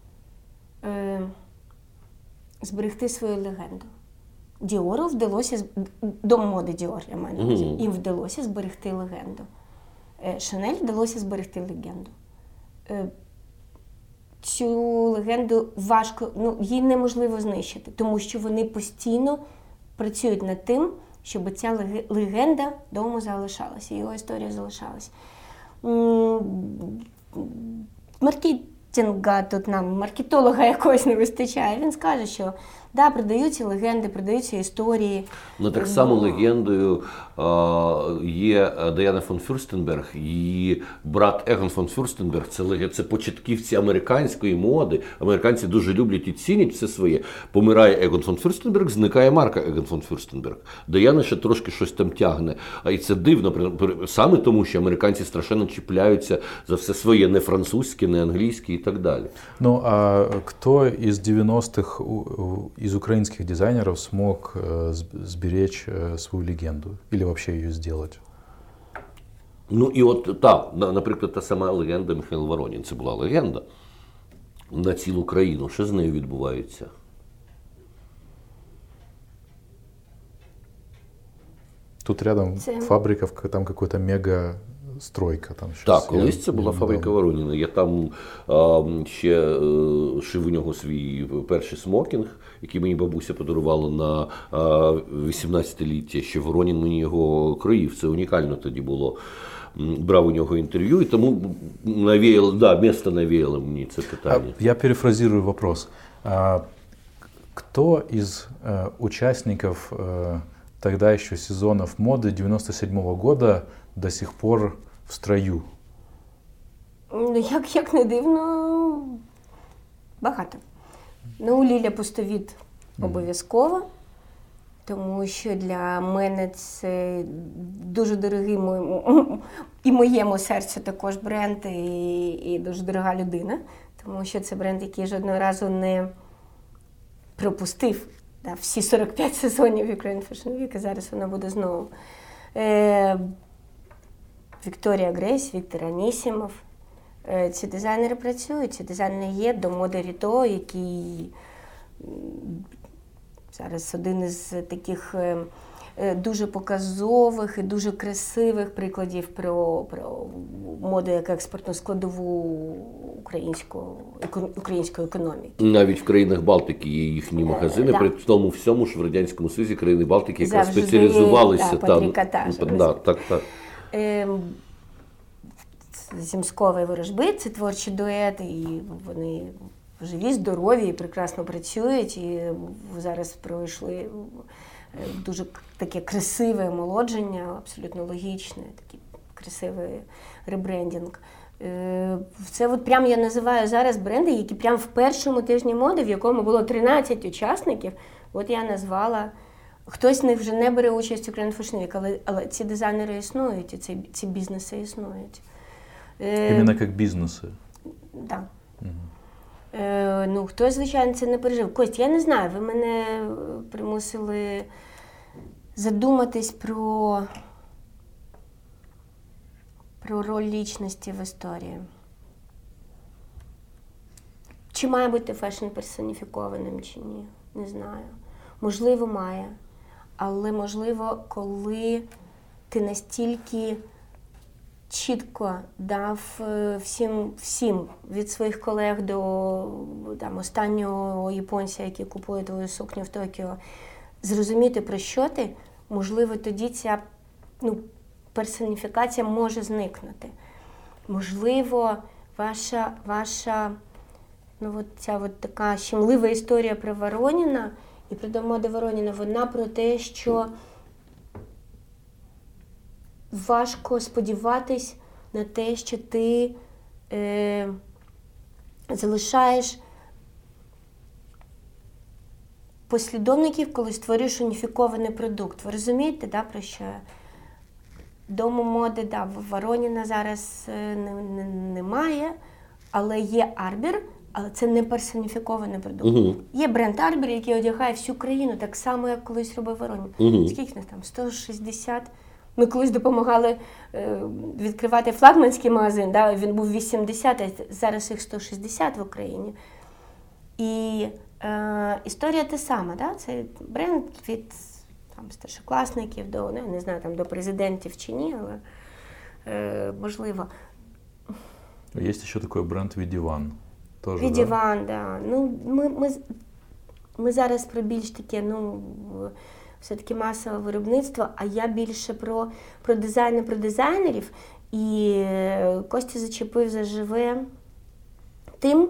свою легенду. Діору вдалося, дом моди Діор, я маю на увазі, їм вдалося зберегти легенду. Шанель вдалося зберегти легенду. Цю легенду важко, її неможливо знищити, тому що вони постійно працюють над тим, щоб ця легенда дому залишалася, його історія залишалась. Маркетинга тут нам, маркетолога якогось не вистачає. Він скаже, що да, продаються легенди, продаються історії. Ну так само легендою є Діана фон Фюрстенберг, її брат Егон фон Фюрстенберг. Це початківці американської моди. Американці дуже люблять і цінять все своє. Помирає Егон фон Фюрстенберг, зникає марка Егон фон Фюрстенберг. Діана ще трошки щось там тягне. І це дивно, саме тому, що американці страшенно чіпляються за все своє, не французьке, не англійське і так далі. Ну, а кто из 90-х из украинских дизайнеров смог сберечь свою легенду или вообще ее сделать? Ну і от так, наприклад, та сама легенда Михайло Воронін. Це була легенда на цілу країну. Що з нею відбувається? Тут рядом фабрика, там какой-то мега-стройка. Там так, колись це була фабрика Вороніна. Я там ще шив у нього свій перший смокінг, який мені бабуся подарувала на 18-ліття. Ще Воронін мені його кроїв. Це унікально тоді було. Брав у нього інтерв'ю, і тому місто навіяло мені це питання. Я перефразирую вопрос. Кто из участников тогда еще сезонов моды 97-го года до сих пор в строю? Як не дивно, багато. Ну, Ліля Пустовіт обов'язково, тому що для мене це дуже дорогий і моєму серцю також бренд, і дуже дорога людина, тому що це бренд, який жодного разу не пропустив всі 45 сезонів Ukraine Fashion Week, і зараз вона буде знову. Вікторія Грейс, Віктор Анісімов. Ці дизайнери працюють, ці дизайнери є до моди Ріто, який зараз один із таких дуже показових і дуже красивих прикладів про моду як експортну складову української економіки. Навіть в країнах Балтики є їхні магазини, при тому всьому ж в Радянському Союзі країни Балтики якраз спеціалізувалися там. Так. Зімськовий ворожби, це творчі дуети, і вони живі, здорові і прекрасно працюють, і зараз пройшли дуже таке красиве омолодження, абсолютно логічне, такий красивий ребрендінг. Це от прям я називаю зараз бренди, які прям в першому тижні моди, в якому було 13 учасників, от я назвала. Хтось з них вже не бере участь у Ukraine Fashion Week, але ці дизайнери існують, і ці бізнеси існують. Іменно як бізнеси? Так. Ну, хтось, звичайно, це не пережив. Кость, я не знаю, ви мене примусили задуматись про роль лічності в історії. Чи має бути фешн персоніфікованим, чи ні? Не знаю. Можливо, має. Але, можливо, коли ти настільки чітко дав всім від своїх колег до останнього японця, який купує твою сукню в Токіо, зрозуміти, про що ти, можливо, тоді ця персоніфікація може зникнути. Можливо, ваша ця така щемлива історія про Вороніна і про домоди Вороніна, вона про те, що важко сподіватись на те, що ти залишаєш послідовників, коли створюєш уніфікований продукт. Ви розумієте, про що я? Дому моди, Вороніна зараз немає, але є Арбір, але це не персоніфікований продукт. Є бренд Арбір, який одягає всю країну, так само, як колись робив Воронін. Скільки нас там? 160? Ми колись допомагали відкривати флагманський магазин, він був 80, а зараз їх 160 в Україні. І історія та сама, це бренд від старшокласників до, не знаю, до президентів чи ні, але можливо. Є ще такий бренд Відіван. Відіван, так. Ми зараз про більш таке, все-таки масове виробництво, а я більше про дизайн і про дизайнерів. І Костя зачепив заживе тим,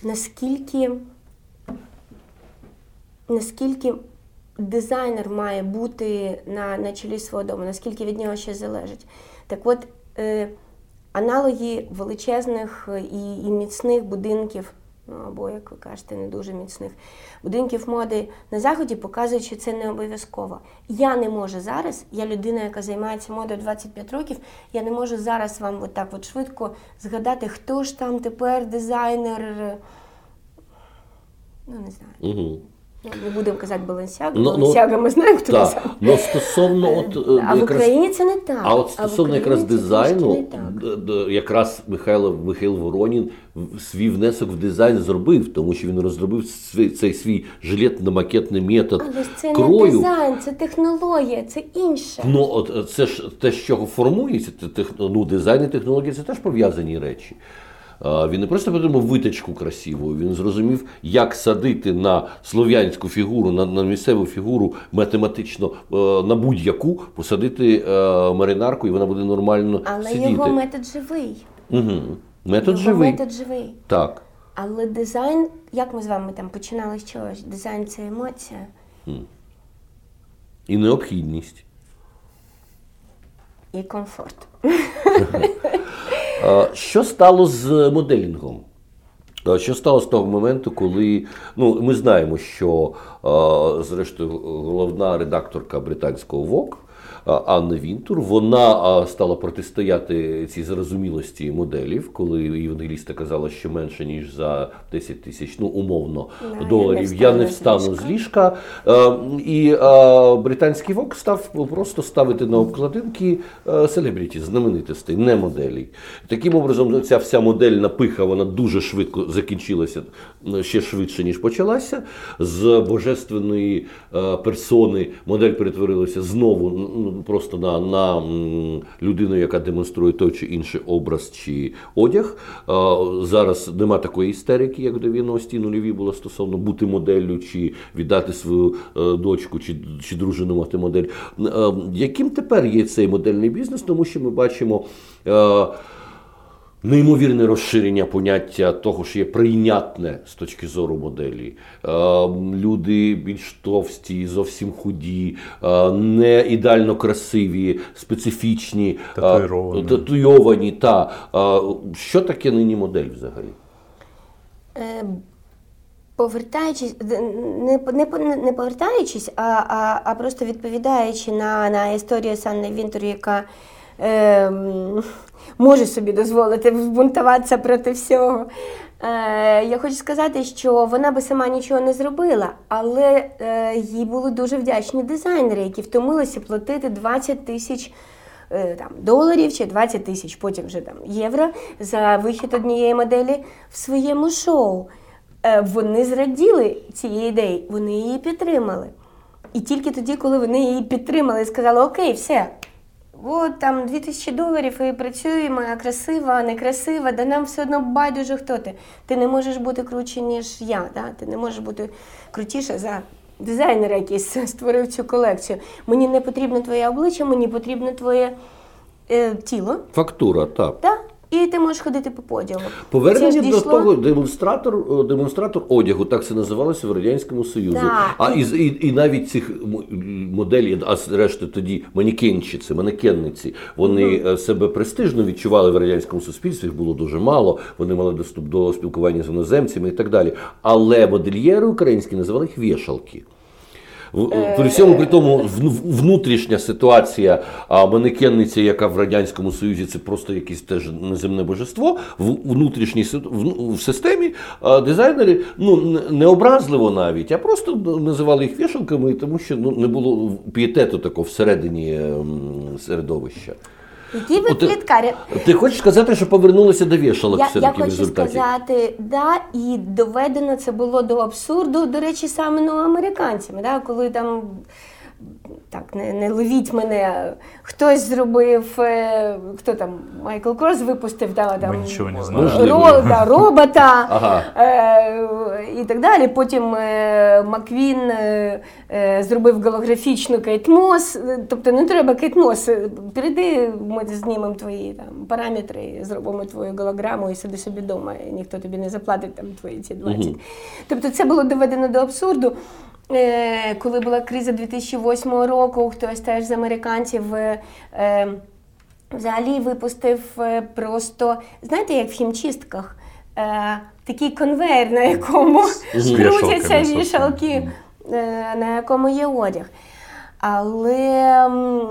наскільки дизайнер має бути на чолі свого дому, наскільки від нього ще залежить. Так от, аналоги величезних і міцних будинків, або, як ви кажете, не дуже міцних будинків моди на Заході показують, що це не обов'язково. Я не можу зараз, я людина, яка займається модою 25 років, я не можу зараз вам так швидко згадати, хто ж там тепер дизайнер, не знаю. Угу. Не будемо казати Balenciaga, ми знаємо, хто дизайнер. Стосовно а в Україні це не так. А от стосовно якраз дизайну, якраз Михайло Воронін свій внесок в дизайн зробив, тому що він розробив цей свій жилетно-макетний метод але це крою. Не дизайн, це технологія, це інше. От це ж те, з чого формується, дизайн і технологія – це теж пов'язані речі. Він не просто придумав виточку красиву, він зрозумів, як садити на слов'янську фігуру, на місцеву фігуру математично на будь-яку, посадити маринарку, і вона буде нормально сидіти. Але його метод живий. Угу. Метод живий. Так. Але дизайн, як ми з вами там починали з чогось, дизайн – це емоція. І необхідність. І комфорт. Що стало з моделінгом? Що стало з того моменту, коли, ми знаємо, що, зрештою, головна редакторка британського Vogue Анна Вінтур, вона стала протистояти цій зарозумілості моделів, коли Євангеліста казала, що менше, ніж за 10 тисяч, умовно, доларів, я не встану з ліжка. І британський Vogue став просто ставити на обкладинки селебріті, знаменитостей, не моделей. Таким образом, ця вся модельна пиха, вона дуже швидко закінчилася, ще швидше, ніж почалася. З божественної персони модель перетворилася знову просто на людину, яка демонструє той чи інший образ чи одяг. Зараз нема такої істерики, як в 90-ті нульові було стосовно бути моделлю, чи віддати свою дочку, чи дружину мати модель. Яким тепер є цей модельний бізнес? Тому що ми бачимо неймовірне розширення поняття того, що є прийнятне з точки зору моделі. Люди більш товсті, зовсім худі, не ідеально красиві, специфічні, татуйовані. Що таке нині модель взагалі? Повертаючись, не повертаючись, а просто відповідаючи на історію з Анною Вінтур, яка може собі дозволити збунтуватися проти всього. Я хочу сказати, що вона би сама нічого не зробила, але їй були дуже вдячні дизайнери, які втомилися платити 20 тисяч доларів чи 20 тисяч, потім вже євро за вихід однієї моделі в своєму шоу. Вони зраділи цієї ідеї, вони її підтримали. І тільки тоді, коли вони її підтримали і сказали, окей, все, от там $2000 і працюємо, красива, некрасива, да нам все одно байдуже хто ти. Ти не можеш бути круче, ніж я, да? Ти не можеш бути крутіше за дизайнера, який створив цю колекцію. Мені не потрібно твоє обличчя, мені потрібно твоє тіло. Фактура, так. Так. І ти можеш ходити по подіуму. Повернення до того демонстратор одягу, так це називалося в Радянському Союзі. І навіть цих моделей, а зрештою тоді манекенниці, вони себе престижно відчували в радянському суспільстві, їх було дуже мало, вони мали доступ до спілкування з іноземцями і так далі. Але модельєри українські називали їх вішалки. При всьому при тому внутрішня ситуація манекенниці, яка в Радянському Союзі це просто якесь теж неземне божество, в системі дизайнери не образливо навіть, а просто називали їх вішалками, тому що не було пієтету такого всередині середовища. Які ви пліткарі? Ти хочеш сказати, що повернулися до вішалок все-таки в результаті? Я хочу сказати, і доведено це було до абсурду, до речі, саме американцями, коли там так, не ловіть мене, хтось зробив, хто там, Майкл Корс випустив, Ми нічого не знаємо. Робота і так далі. Потім Маквін зробив голографічну Кейт Мос, тобто не треба Кейт Мос, перейди, ми знімемо твої там параметри, зробимо твою голограму і сиди собі вдома, і ніхто тобі не заплатить там твої ці 20. Тобто це було доведено до абсурду. Коли була криза 2008 року, хтось теж з американців взагалі випустив просто, знаєте, як в хімчистках, такий конвейер, на якому крутяться вішалки, на якому є одяг. Але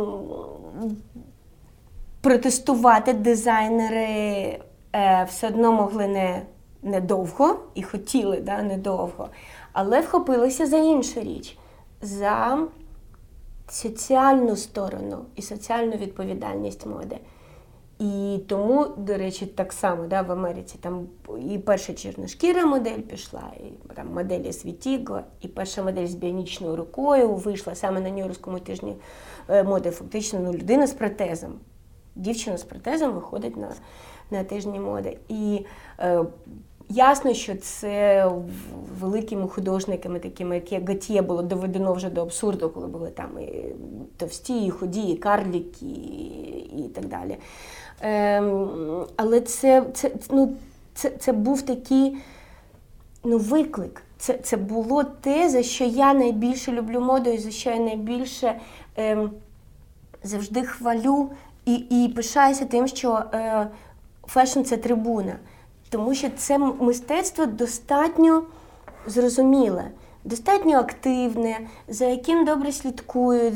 протестувати дизайнери все одно могли недовго і хотіли, недовго. Але вхопилися за іншу річ, за соціальну сторону і соціальну відповідальність моди. І тому, до речі, так само в Америці там і перша чорношкіра модель пішла, і там моделі Світіго, і перша модель з біонічною рукою вийшла саме на Нью-Йоркському тижні моди. Фактично людина з протезом, дівчина з протезом виходить на тижні моди. І ясно, що це великими художниками, такими як Готьє, було доведено вже до абсурду, коли були там і товсті, і худі, і карліки, і так далі. Але це був такий виклик. Це було те, за що я найбільше люблю моду, і за що я найбільше завжди хвалю і пишаюся тим, що фешн – це трибуна. Тому що це мистецтво достатньо зрозуміле, достатньо активне, за яким добре слідкують,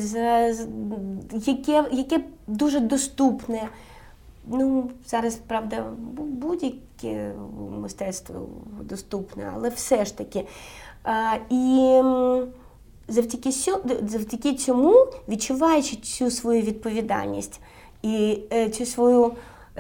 яке дуже доступне. Зараз, правда, будь-яке мистецтво доступне, але все ж таки. І завдяки цьому, відчуваючи цю свою відповідальність і цю свою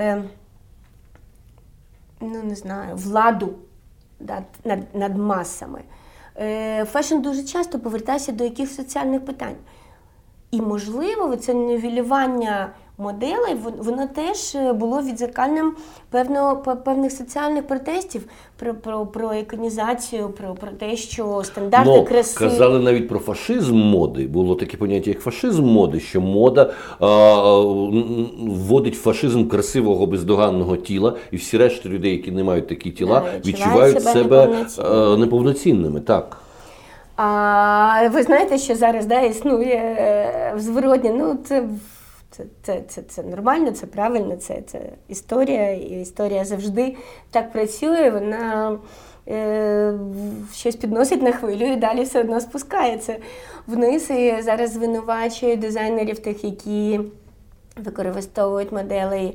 владу над масами. Фешн дуже часто повертається до якихось соціальних питань. І, можливо, це нівелювання моделей, воно теж було відзеркальним певних соціальних протестів про іконізацію, про те, що стандарти краси... Казали навіть про фашизм моди. Було таке поняття, як фашизм моди, що мода вводить фашизм красивого бездоганного тіла, і всі решта людей, які не мають такі тіла, відчувають себе неповноцінними. Так. Ви знаєте, що зараз існує зворотня, це нормально, це правильно, це історія, і історія завжди так працює, вона щось підносить на хвилю і далі все одно спускається вниз. І зараз звинувачує дизайнерів тих, які використовують моделей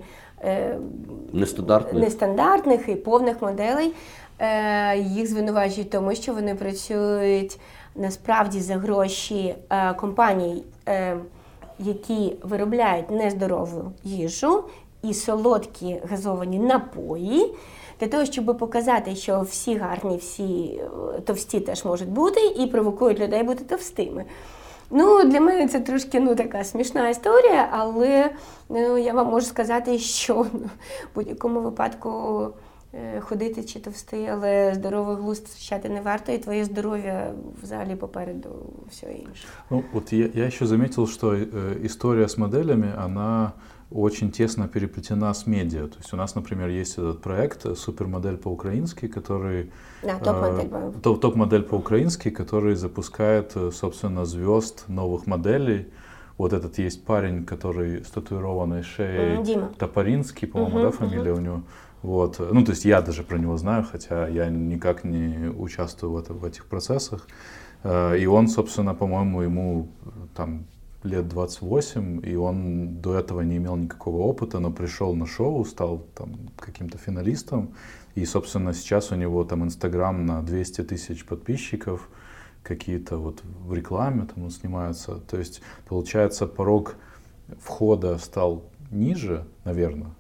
нестандартних і повних моделей. Їх звинувачують тому, що вони працюють насправді за гроші компаній, які виробляють нездорову їжу і солодкі газовані напої, для того, щоб показати, що всі гарні, всі товсті теж можуть бути, і провокують людей бути товстими. Для мене це трошки така смішна історія, але я вам можу сказати, що в будь-якому випадку ходити чи товстий, але здоровий глузд втрачати не варто, и твое здоровье взагалі попереду все інше. Вот я еще заметил, что история с моделями, она очень тесно переплетена с медиа. То есть у нас, например, есть этот проект «Супермодель по-украински», который... топ-модель по-украински, который запускает, собственно, звезд новых моделей. Вот этот есть парень, который с татуированной шеей, Дима Топоринский, по-моему, фамилия у него. Вот. То есть я даже про него знаю, хотя я никак не участвую в этих процессах. И он, собственно, по-моему, ему там лет 28, и он до этого не имел никакого опыта, но пришел на шоу, стал там каким-то финалистом. И, собственно, сейчас у него там Инстаграм на 200 тысяч подписчиков, какие-то вот в рекламе там он снимается. То есть, получается, порог входа стал ниже, наверное.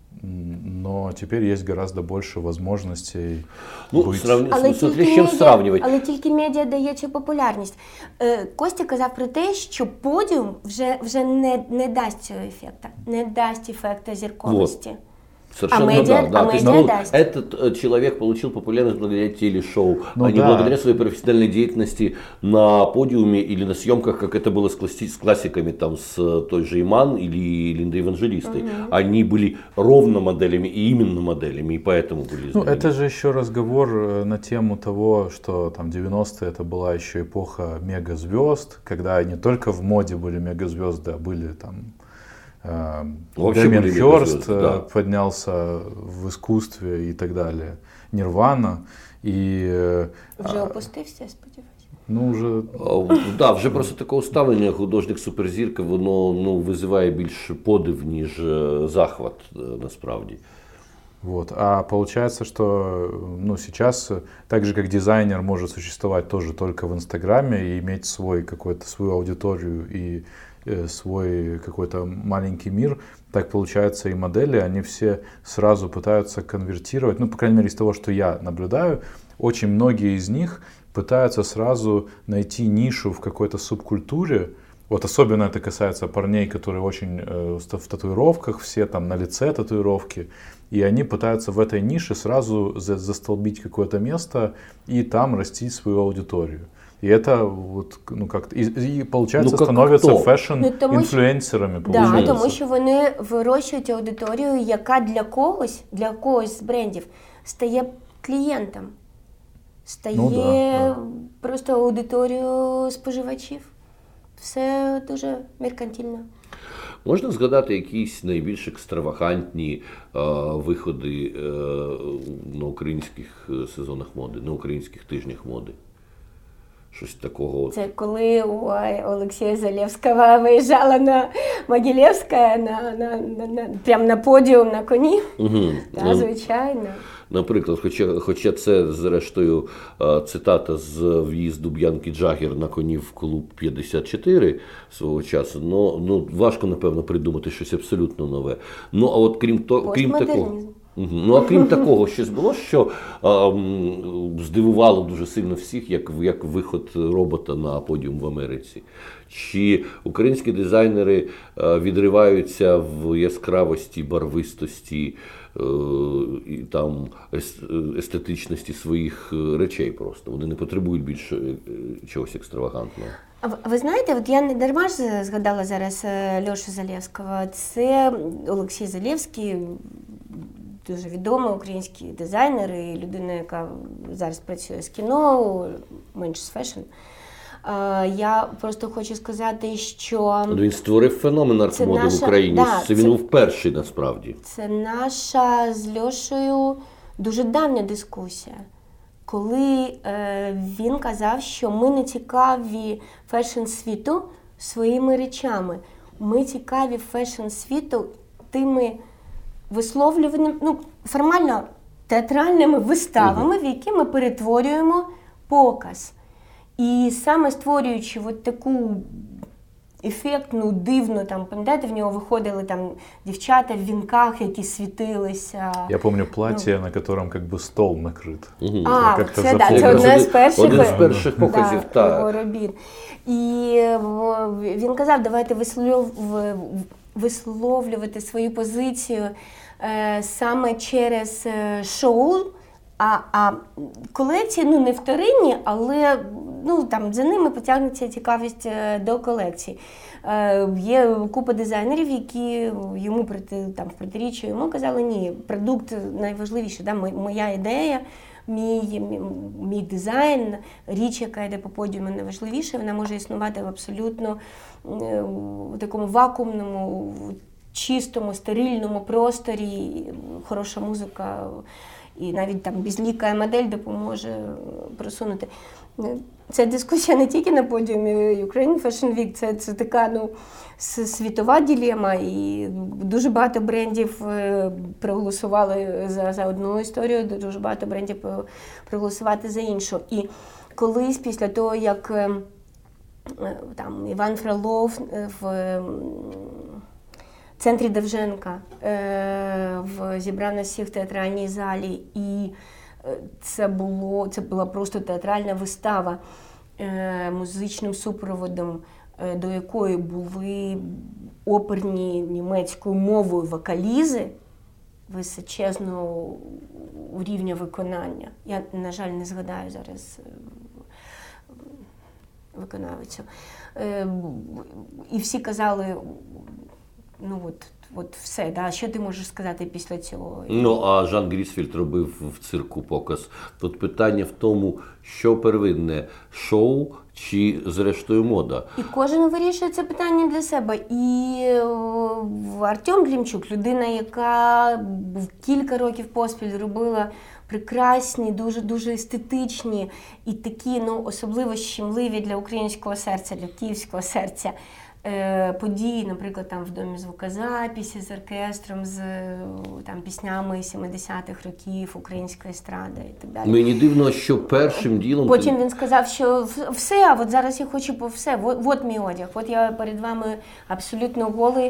но теперь есть гораздо больше возможностей быть. Смотри, з чим сравнювати. Але тільки медіа дає цю популярність. Костя казав про те, що подіум вже не дасть цього ефекту, не дасть ефекту зірковості. Совершенно медиа даст. Этот человек получил популярность благодаря телешоу, а не благодаря своей профессиональной деятельности на подиуме или на съемках, как это было с классиками, там, с той же Иман или Линдой Евангелистой. Они были ровно моделями и именно моделями, и поэтому были знамениты. Это же еще разговор на тему того, что там 90-е это была еще эпоха мегазвезд, когда не только в моде были мегазвезды, а были там Дэмиан Хёрст поднялся в искусстве и так далее, Нирвана. Вже опустився, я сподіваюся. Ну, вже... вже просто таке ставлення художник-суперзірка, воно визиває більше подив, ніж захват насправді. Вот. А получается, что сейчас, так же как дизайнер может существовать тоже только в Инстаграме и иметь свою аудиторию и свой какой-то маленький мир, так получается и модели, они все сразу пытаются конвертировать, по крайней мере из того, что я наблюдаю, очень многие из них пытаются сразу найти нишу в какой-то субкультуре. Вот особенно это касается парней, которые очень в татуировках, все там на лице татуировки, и они пытаются в этой нише сразу застолбить какое-то место и там растить свою аудиторию. И это вот, как-то, и получается, становятся фэшн-інфлюенсерами. Да, тому що вони вирощують аудиторію, яка для когось з брендів стає клієнтом, стає просто аудиторією споживачів. Все дуже меркантильно. Можна згадати якісь найбільш екстравагантні виходи на українських сезонах моди, на українських тижнях моди? Щось такого. Це коли у Олексія Залєвського виїжджала на Могилєвська прямо на подіум на коні. Так, звичайно. Наприклад, хоча це, зрештою, цитата з в'їзду Б'янки Джаггер на коні в клуб 54 свого часу, важко, напевно, придумати щось абсолютно нове. А от крім такого... А крім такого, щось було, що здивувало дуже сильно всіх, як виход робота на подіум в Америці? Чи українські дизайнери відриваються в яскравості, барвистості і там естетичності своїх речей просто? Вони не потребують більше чогось екстравагантного. Ви знаєте, от я не дарма ж згадала зараз Льошу Залєвського. Це Олексій Залєвський, дуже відомий український дизайнер і людина, яка зараз працює з кіно, менш з фешн. Я просто хочу сказати, що... Він створив феномен арт-моди в Україні. Це він був перший, насправді. Це наша з Льошею дуже давня дискусія. Коли він казав, що ми не цікаві фешн-світу своїми речами. Ми цікаві фешн-світу тими висловлюваннями, формально театральними виставами, в які ми перетворюємо показ. І саме створюючи от таку ефектну, дивну, пам'ятаєте, в нього виходили дівчата в вінках, які світилися. Я пам'ятаю плаття, на якому якби стол накрит. Це одне з перших показів його робіт. І він казав, давайте висловлювати свою позицію саме через шоу, а колекції не вторинні, але за ними потягнеться цікавість до колекцій. Є купа дизайнерів, які йому в протиріччя йому казали, ні, продукт найважливіше, моя ідея, мій дизайн, річ, яка йде по подіуму, найважливіше, вона може існувати в абсолютно такому вакуумному, чистому, стерильному просторі, хороша музика, і навіть безліка модель допоможе просунути. Це дискусія не тільки на подіумі Ukraine Fashion Week, це така світова дилема, і дуже багато брендів проголосували за одну історію, дуже багато брендів проголосувати за іншу. І колись після того, як Іван Фролов в центрі Довженка в зібрана всіх в театральній залі, і це була просто театральна вистава музичним супроводом, до якої були оперні німецькою мовою вокалізи височезного рівня виконання. Я, на жаль, не згадаю зараз виконавицю. І всі казали, ну от все, да, що ти можеш сказати після цього? Ну, а Жан Грісфельд робив в цирку показ. Тут питання в тому, що первинне – шоу чи, зрештою, мода? І кожен вирішує це питання для себе. І Артем Глімчук – людина, яка кілька років поспіль робила прекрасні, дуже-дуже естетичні і такі, ну, особливо щемливі для українського серця, для київського серця події, наприклад, там в Домі звукозаписі з оркестром, з там піснями 70-х років, української естради і так далі. Мені дивно, що першим ділом... Потім він сказав, що все, а от зараз я хочу по все, от мій одяг, от я перед вами абсолютно голий,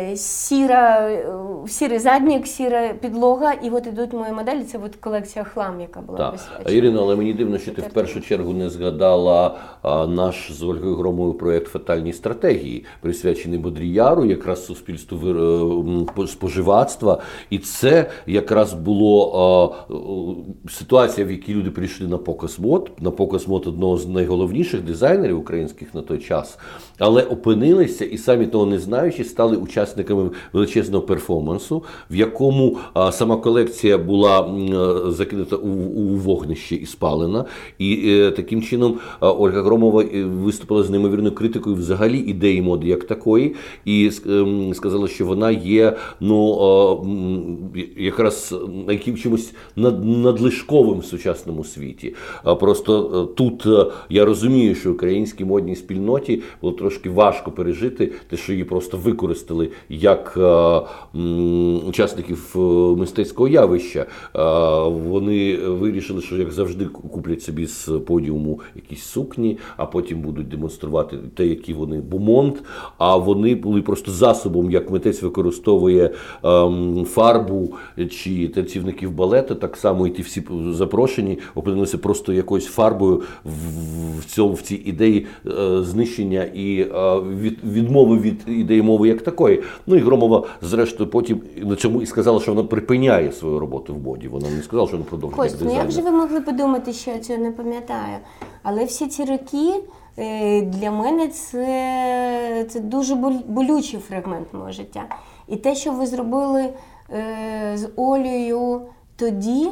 сірий заднік, сіра підлога, і от ідуть мої моделі, це от колекція «Хлам», яка була присвячена. Ірино, але мені дивно, що ти в першу чергу не згадала наш з Ольгою Громовою проєкт «Фатальні стратегії», присвячений Бодріяру, якраз суспільству споживацтва. І це якраз було ситуація, в якій люди прийшли на показ мод одного з найголовніших дизайнерів українських на той час, але опинилися і самі того не знаючи, стали учасниками величезного перформансу, в якому сама колекція була закинута у вогнище і спалена. І таким чином Ольга Громова виступила з неймовірною критикою взагалі ідеї моди як такої, і сказала, що вона є, ну, якраз чимось надлишковим в сучасному світі. Просто тут я розумію, що українській модній спільноті було трошки важко пережити те, що її просто використали як учасників мистецького явища. Вони вирішили, що, як завжди, куплять собі з подіуму якісь сукні, а потім будуть демонструвати те, які вони бумонт, а вони були просто засобом, як митець використовує фарбу чи танцівників балету, так само і ті всі запрошені опинилися просто якоюсь фарбою в цій ідеї знищення і відмови від ідеї мови як такої. Ну і Громова, зрештою, потім на цьому і сказала, що вона припиняє свою роботу в моді. Вона не сказала, що вона продовжує як дизайнер. Ну як же ви могли подумати, що я цього не пам'ятаю? Але всі ці роки для мене це дуже болючий фрагмент мого життя. І те, що ви зробили з Олею тоді,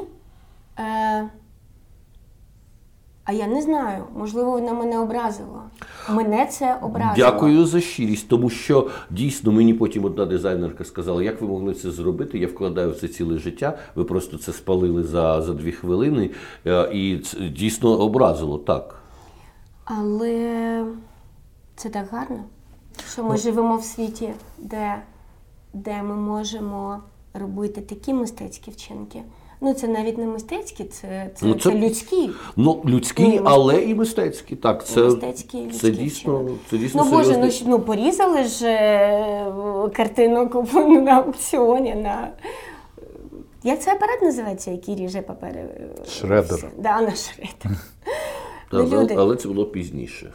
а я не знаю, можливо, вона мене образила. Мене це образило. Дякую за щирість, тому що дійсно мені потім одна дизайнерка сказала, як ви могли це зробити, я вкладаю в це ціле життя, ви просто це спалили за 2 хвилини, і це дійсно образило, так. Але це так гарно, що ми живемо в світі, де ми можемо робити такі мистецькі вчинки. Ну, це навіть не мистецькі, це людські. Ну, людські, але і мистецькі. Так, це дійсно ну, Боже, ну порізали ж картину, куплену на аукціоні, як цей апарат називається, який ріже папери? Шредер. Да, на шредер. Але це було пізніше.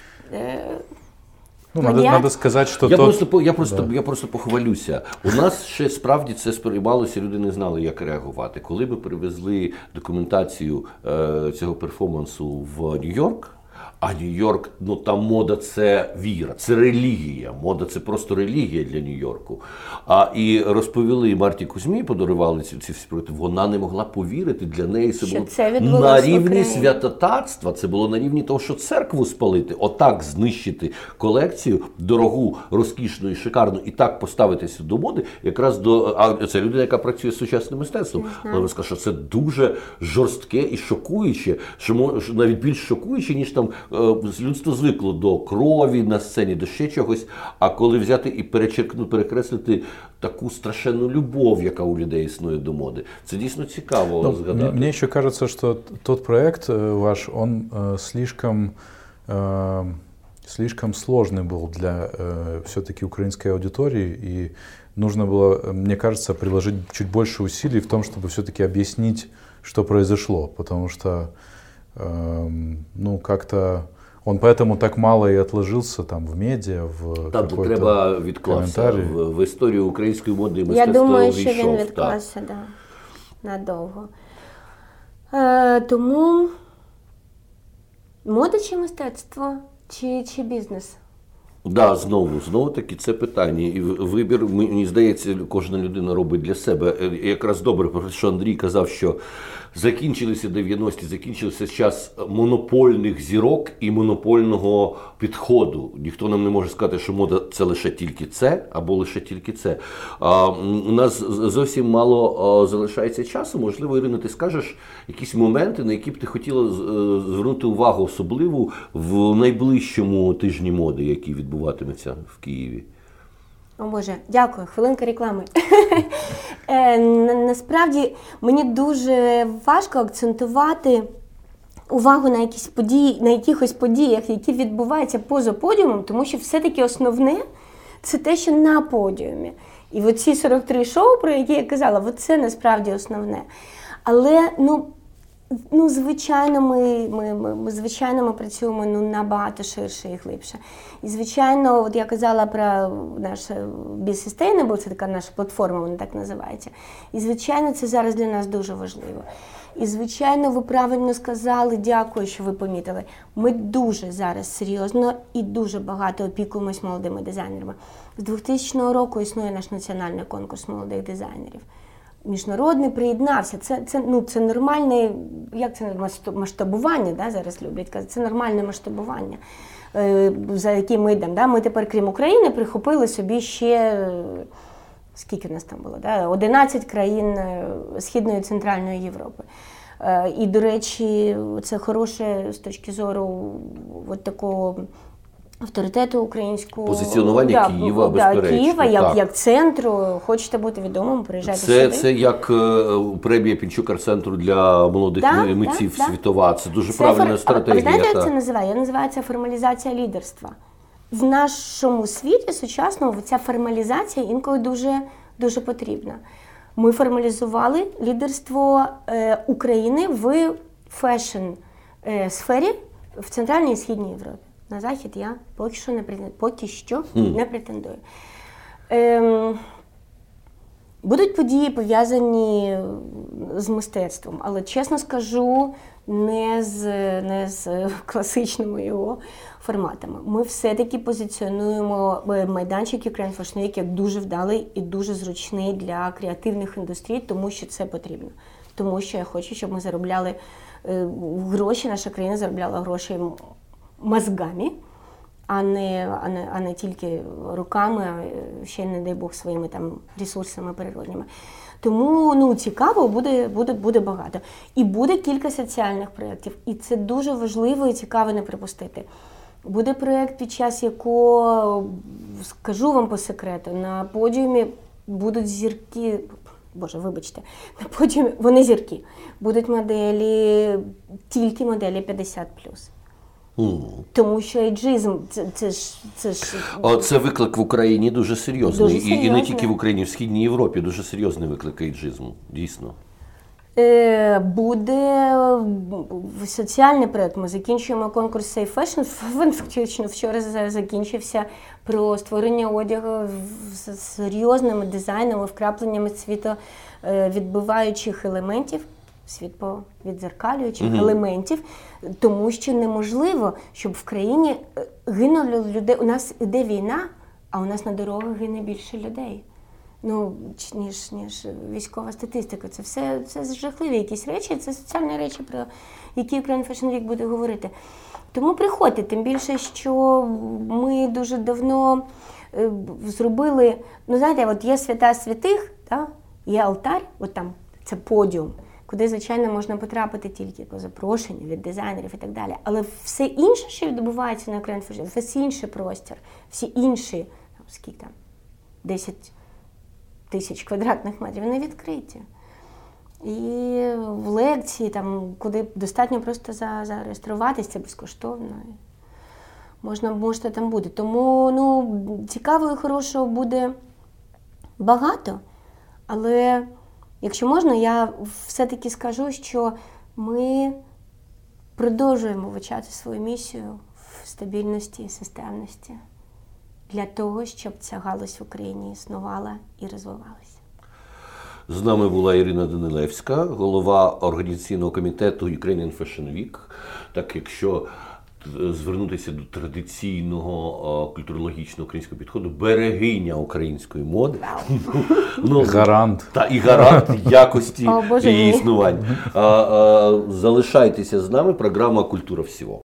Ну, надо сказати, що я просто похвалюся. У нас ще справді це сприймалося, люди не знали, як реагувати. Коли ми привезли документацію цього перформансу в Нью-Йорк, а Нью-Йорк, ну там мода – це віра, це релігія. Мода – це просто релігія для Нью-Йорку. І розповіли Марті Кузьмі, подарували ці всі проекти, вона не могла повірити, для неї це було на рівні святотатства, це було на рівні того, що церкву спалити, отак знищити колекцію, дорогу, розкішну і шикарну, і так поставитися до моди, якраз це людина, яка працює з сучасним мистецтвом. Вона сказала, що це дуже жорстке і шокуюче, що навіть більш шокуюче, ніж там людство звикло до крові на сцені, до ще чогось, а коли взяти і перекреслити таку страшенну любов, яка у людей існує до моди. Це дійсно цікаво згадати. Мне еще кажется, что тот проект ваш, он слишком сложный был для все-таки украинской аудитории, и нужно было, мне кажется, приложить чуть больше усилий в том, чтобы все-таки объяснить, что произошло, потому что, ну, как-то он поэтому так мало і отложився там в медіа, в там треба відкласти. В історію української моди і мистецтва. Я думаю, що він відклався, так, надовго. Тому мода чи мистецтво, чи бізнес? Да, знову таки це питання. І вибір, мені здається, кожна людина робить для себе. Якраз добре, про що Андрій казав, що закінчилися 90-ті, закінчився час монопольних зірок і монопольного підходу. Ніхто нам не може сказати, що мода – це лише тільки це, або лише тільки це. У нас зовсім мало залишається часу. Можливо, Ірина, ти скажеш якісь моменти, на які б ти хотіла звернути увагу особливу в найближчому тижні моди, який відбуватиметься в Києві? О Боже, дякую. Хвилинка реклами. Насправді, мені дуже важко акцентувати увагу на якісь події, на якихось подіях, які відбуваються поза подіумом, тому що все-таки основне – це те, що на подіумі. І оці 43 шоу, про які я казала, це насправді основне. Але, звичайно, ми працюємо набагато ширше і глибше. І, звичайно, от я казала про наш Be Sustainable, це така наша платформа, вона так називається. І, звичайно, це зараз для нас дуже важливо. І, звичайно, ви правильно сказали, дякую, що ви помітили. Ми дуже зараз серйозно і дуже багато опікуємось молодими дизайнерами. З 2000 року існує наш національний конкурс молодих дизайнерів. Міжнародний приєднався. Це нормальне, як це масштабування, да, зараз люблять казати, це нормальне масштабування, за яким ми йдемо. Да? Ми тепер, крім України, прихопили собі ще, скільки в нас там було, да? 11 країн Східної і Центральної Європи. І, до речі, це хороше з точки зору от такого авторитету українського. Позиціонування Києва, безперечно. Києва, як центру. Хочете бути відомим, приїжджайте сюди. Це як премія Пінчук-Арт-центру для молодих митців світова. Це дуже правильна стратегія. Ви знаєте, як це називає? Називається формалізація лідерства. В нашому світі сучасному ця формалізація інколи дуже, дуже потрібна. Ми формалізували лідерство України в фешн-сфері в Центральній і Східній Європі. На Захід я поки що не претендую. Будуть події, пов'язані з мистецтвом, але, чесно скажу, не з класичними його форматами. Ми все-таки позиціонуємо майданчик Ukraine Fashion Week як дуже вдалий і дуже зручний для креативних індустрій, тому що це потрібно. Тому що я хочу, щоб ми заробляли гроші, наша країна заробляла гроші мозгами, а не тільки руками, а ще, не дай Бог, своїми там ресурсами природніми. Тому цікаво, буде багато. І буде кілька соціальних проєктів. І це дуже важливо і цікаво не припустити. Буде проєкт, під час якого, скажу вам по секрету, на подіумі будуть зірки, Боже, вибачте, на подіумі вони зірки. Будуть моделі, тільки моделі 50+. Тому що ейджизм, це виклик в Україні дуже серйозний. І не тільки в Україні, в Східній Європі дуже серйозний виклик ейджизму, дійсно. Буде соціальний проєкт. Ми закінчуємо конкурс Safe Fashion. Він фактично вчора закінчився, про створення одягу з серйозними дизайнами, вкрапленнями світовідбиваючих елементів, світовідзеркалюючих елементів, тому що неможливо, щоб в країні гинули людей. У нас іде війна, а у нас на дорогах гине більше людей. Ніж військова статистика. Це жахливі якісь речі, це соціальні речі, про які Ukraine Fashion Week буде говорити. Тому приходьте, тим більше, що ми дуже давно зробили, знаєте, от є свята святих, є алтар, от там, це подіум, куди, звичайно, можна потрапити тільки по запрошенню від дизайнерів і так далі. Але все інше, що відбувається на Ukraine Fashion Week, весь інший простір, всі інші, скільки там, 10 тисяч квадратних метрів, вони відкриті. І в лекції, там, куди достатньо просто зареєструватися, це безкоштовно. Можна там бути. Тому цікаво і хорошого буде багато, але якщо можна, я все-таки скажу, що ми продовжуємо вивчати свою місію в стабільності і системності для того, щоб ця галузь в Україні існувала і розвивалася. З нами була Ірина Данилевська, голова організаційного комітету Ukrainian Fashion Week. Так, якщо звернутися до традиційного культурологічного українського підходу, берегиня української моди. Гарант. І гарант якості її існування. Залишайтеся з нами, програма «Культура всього».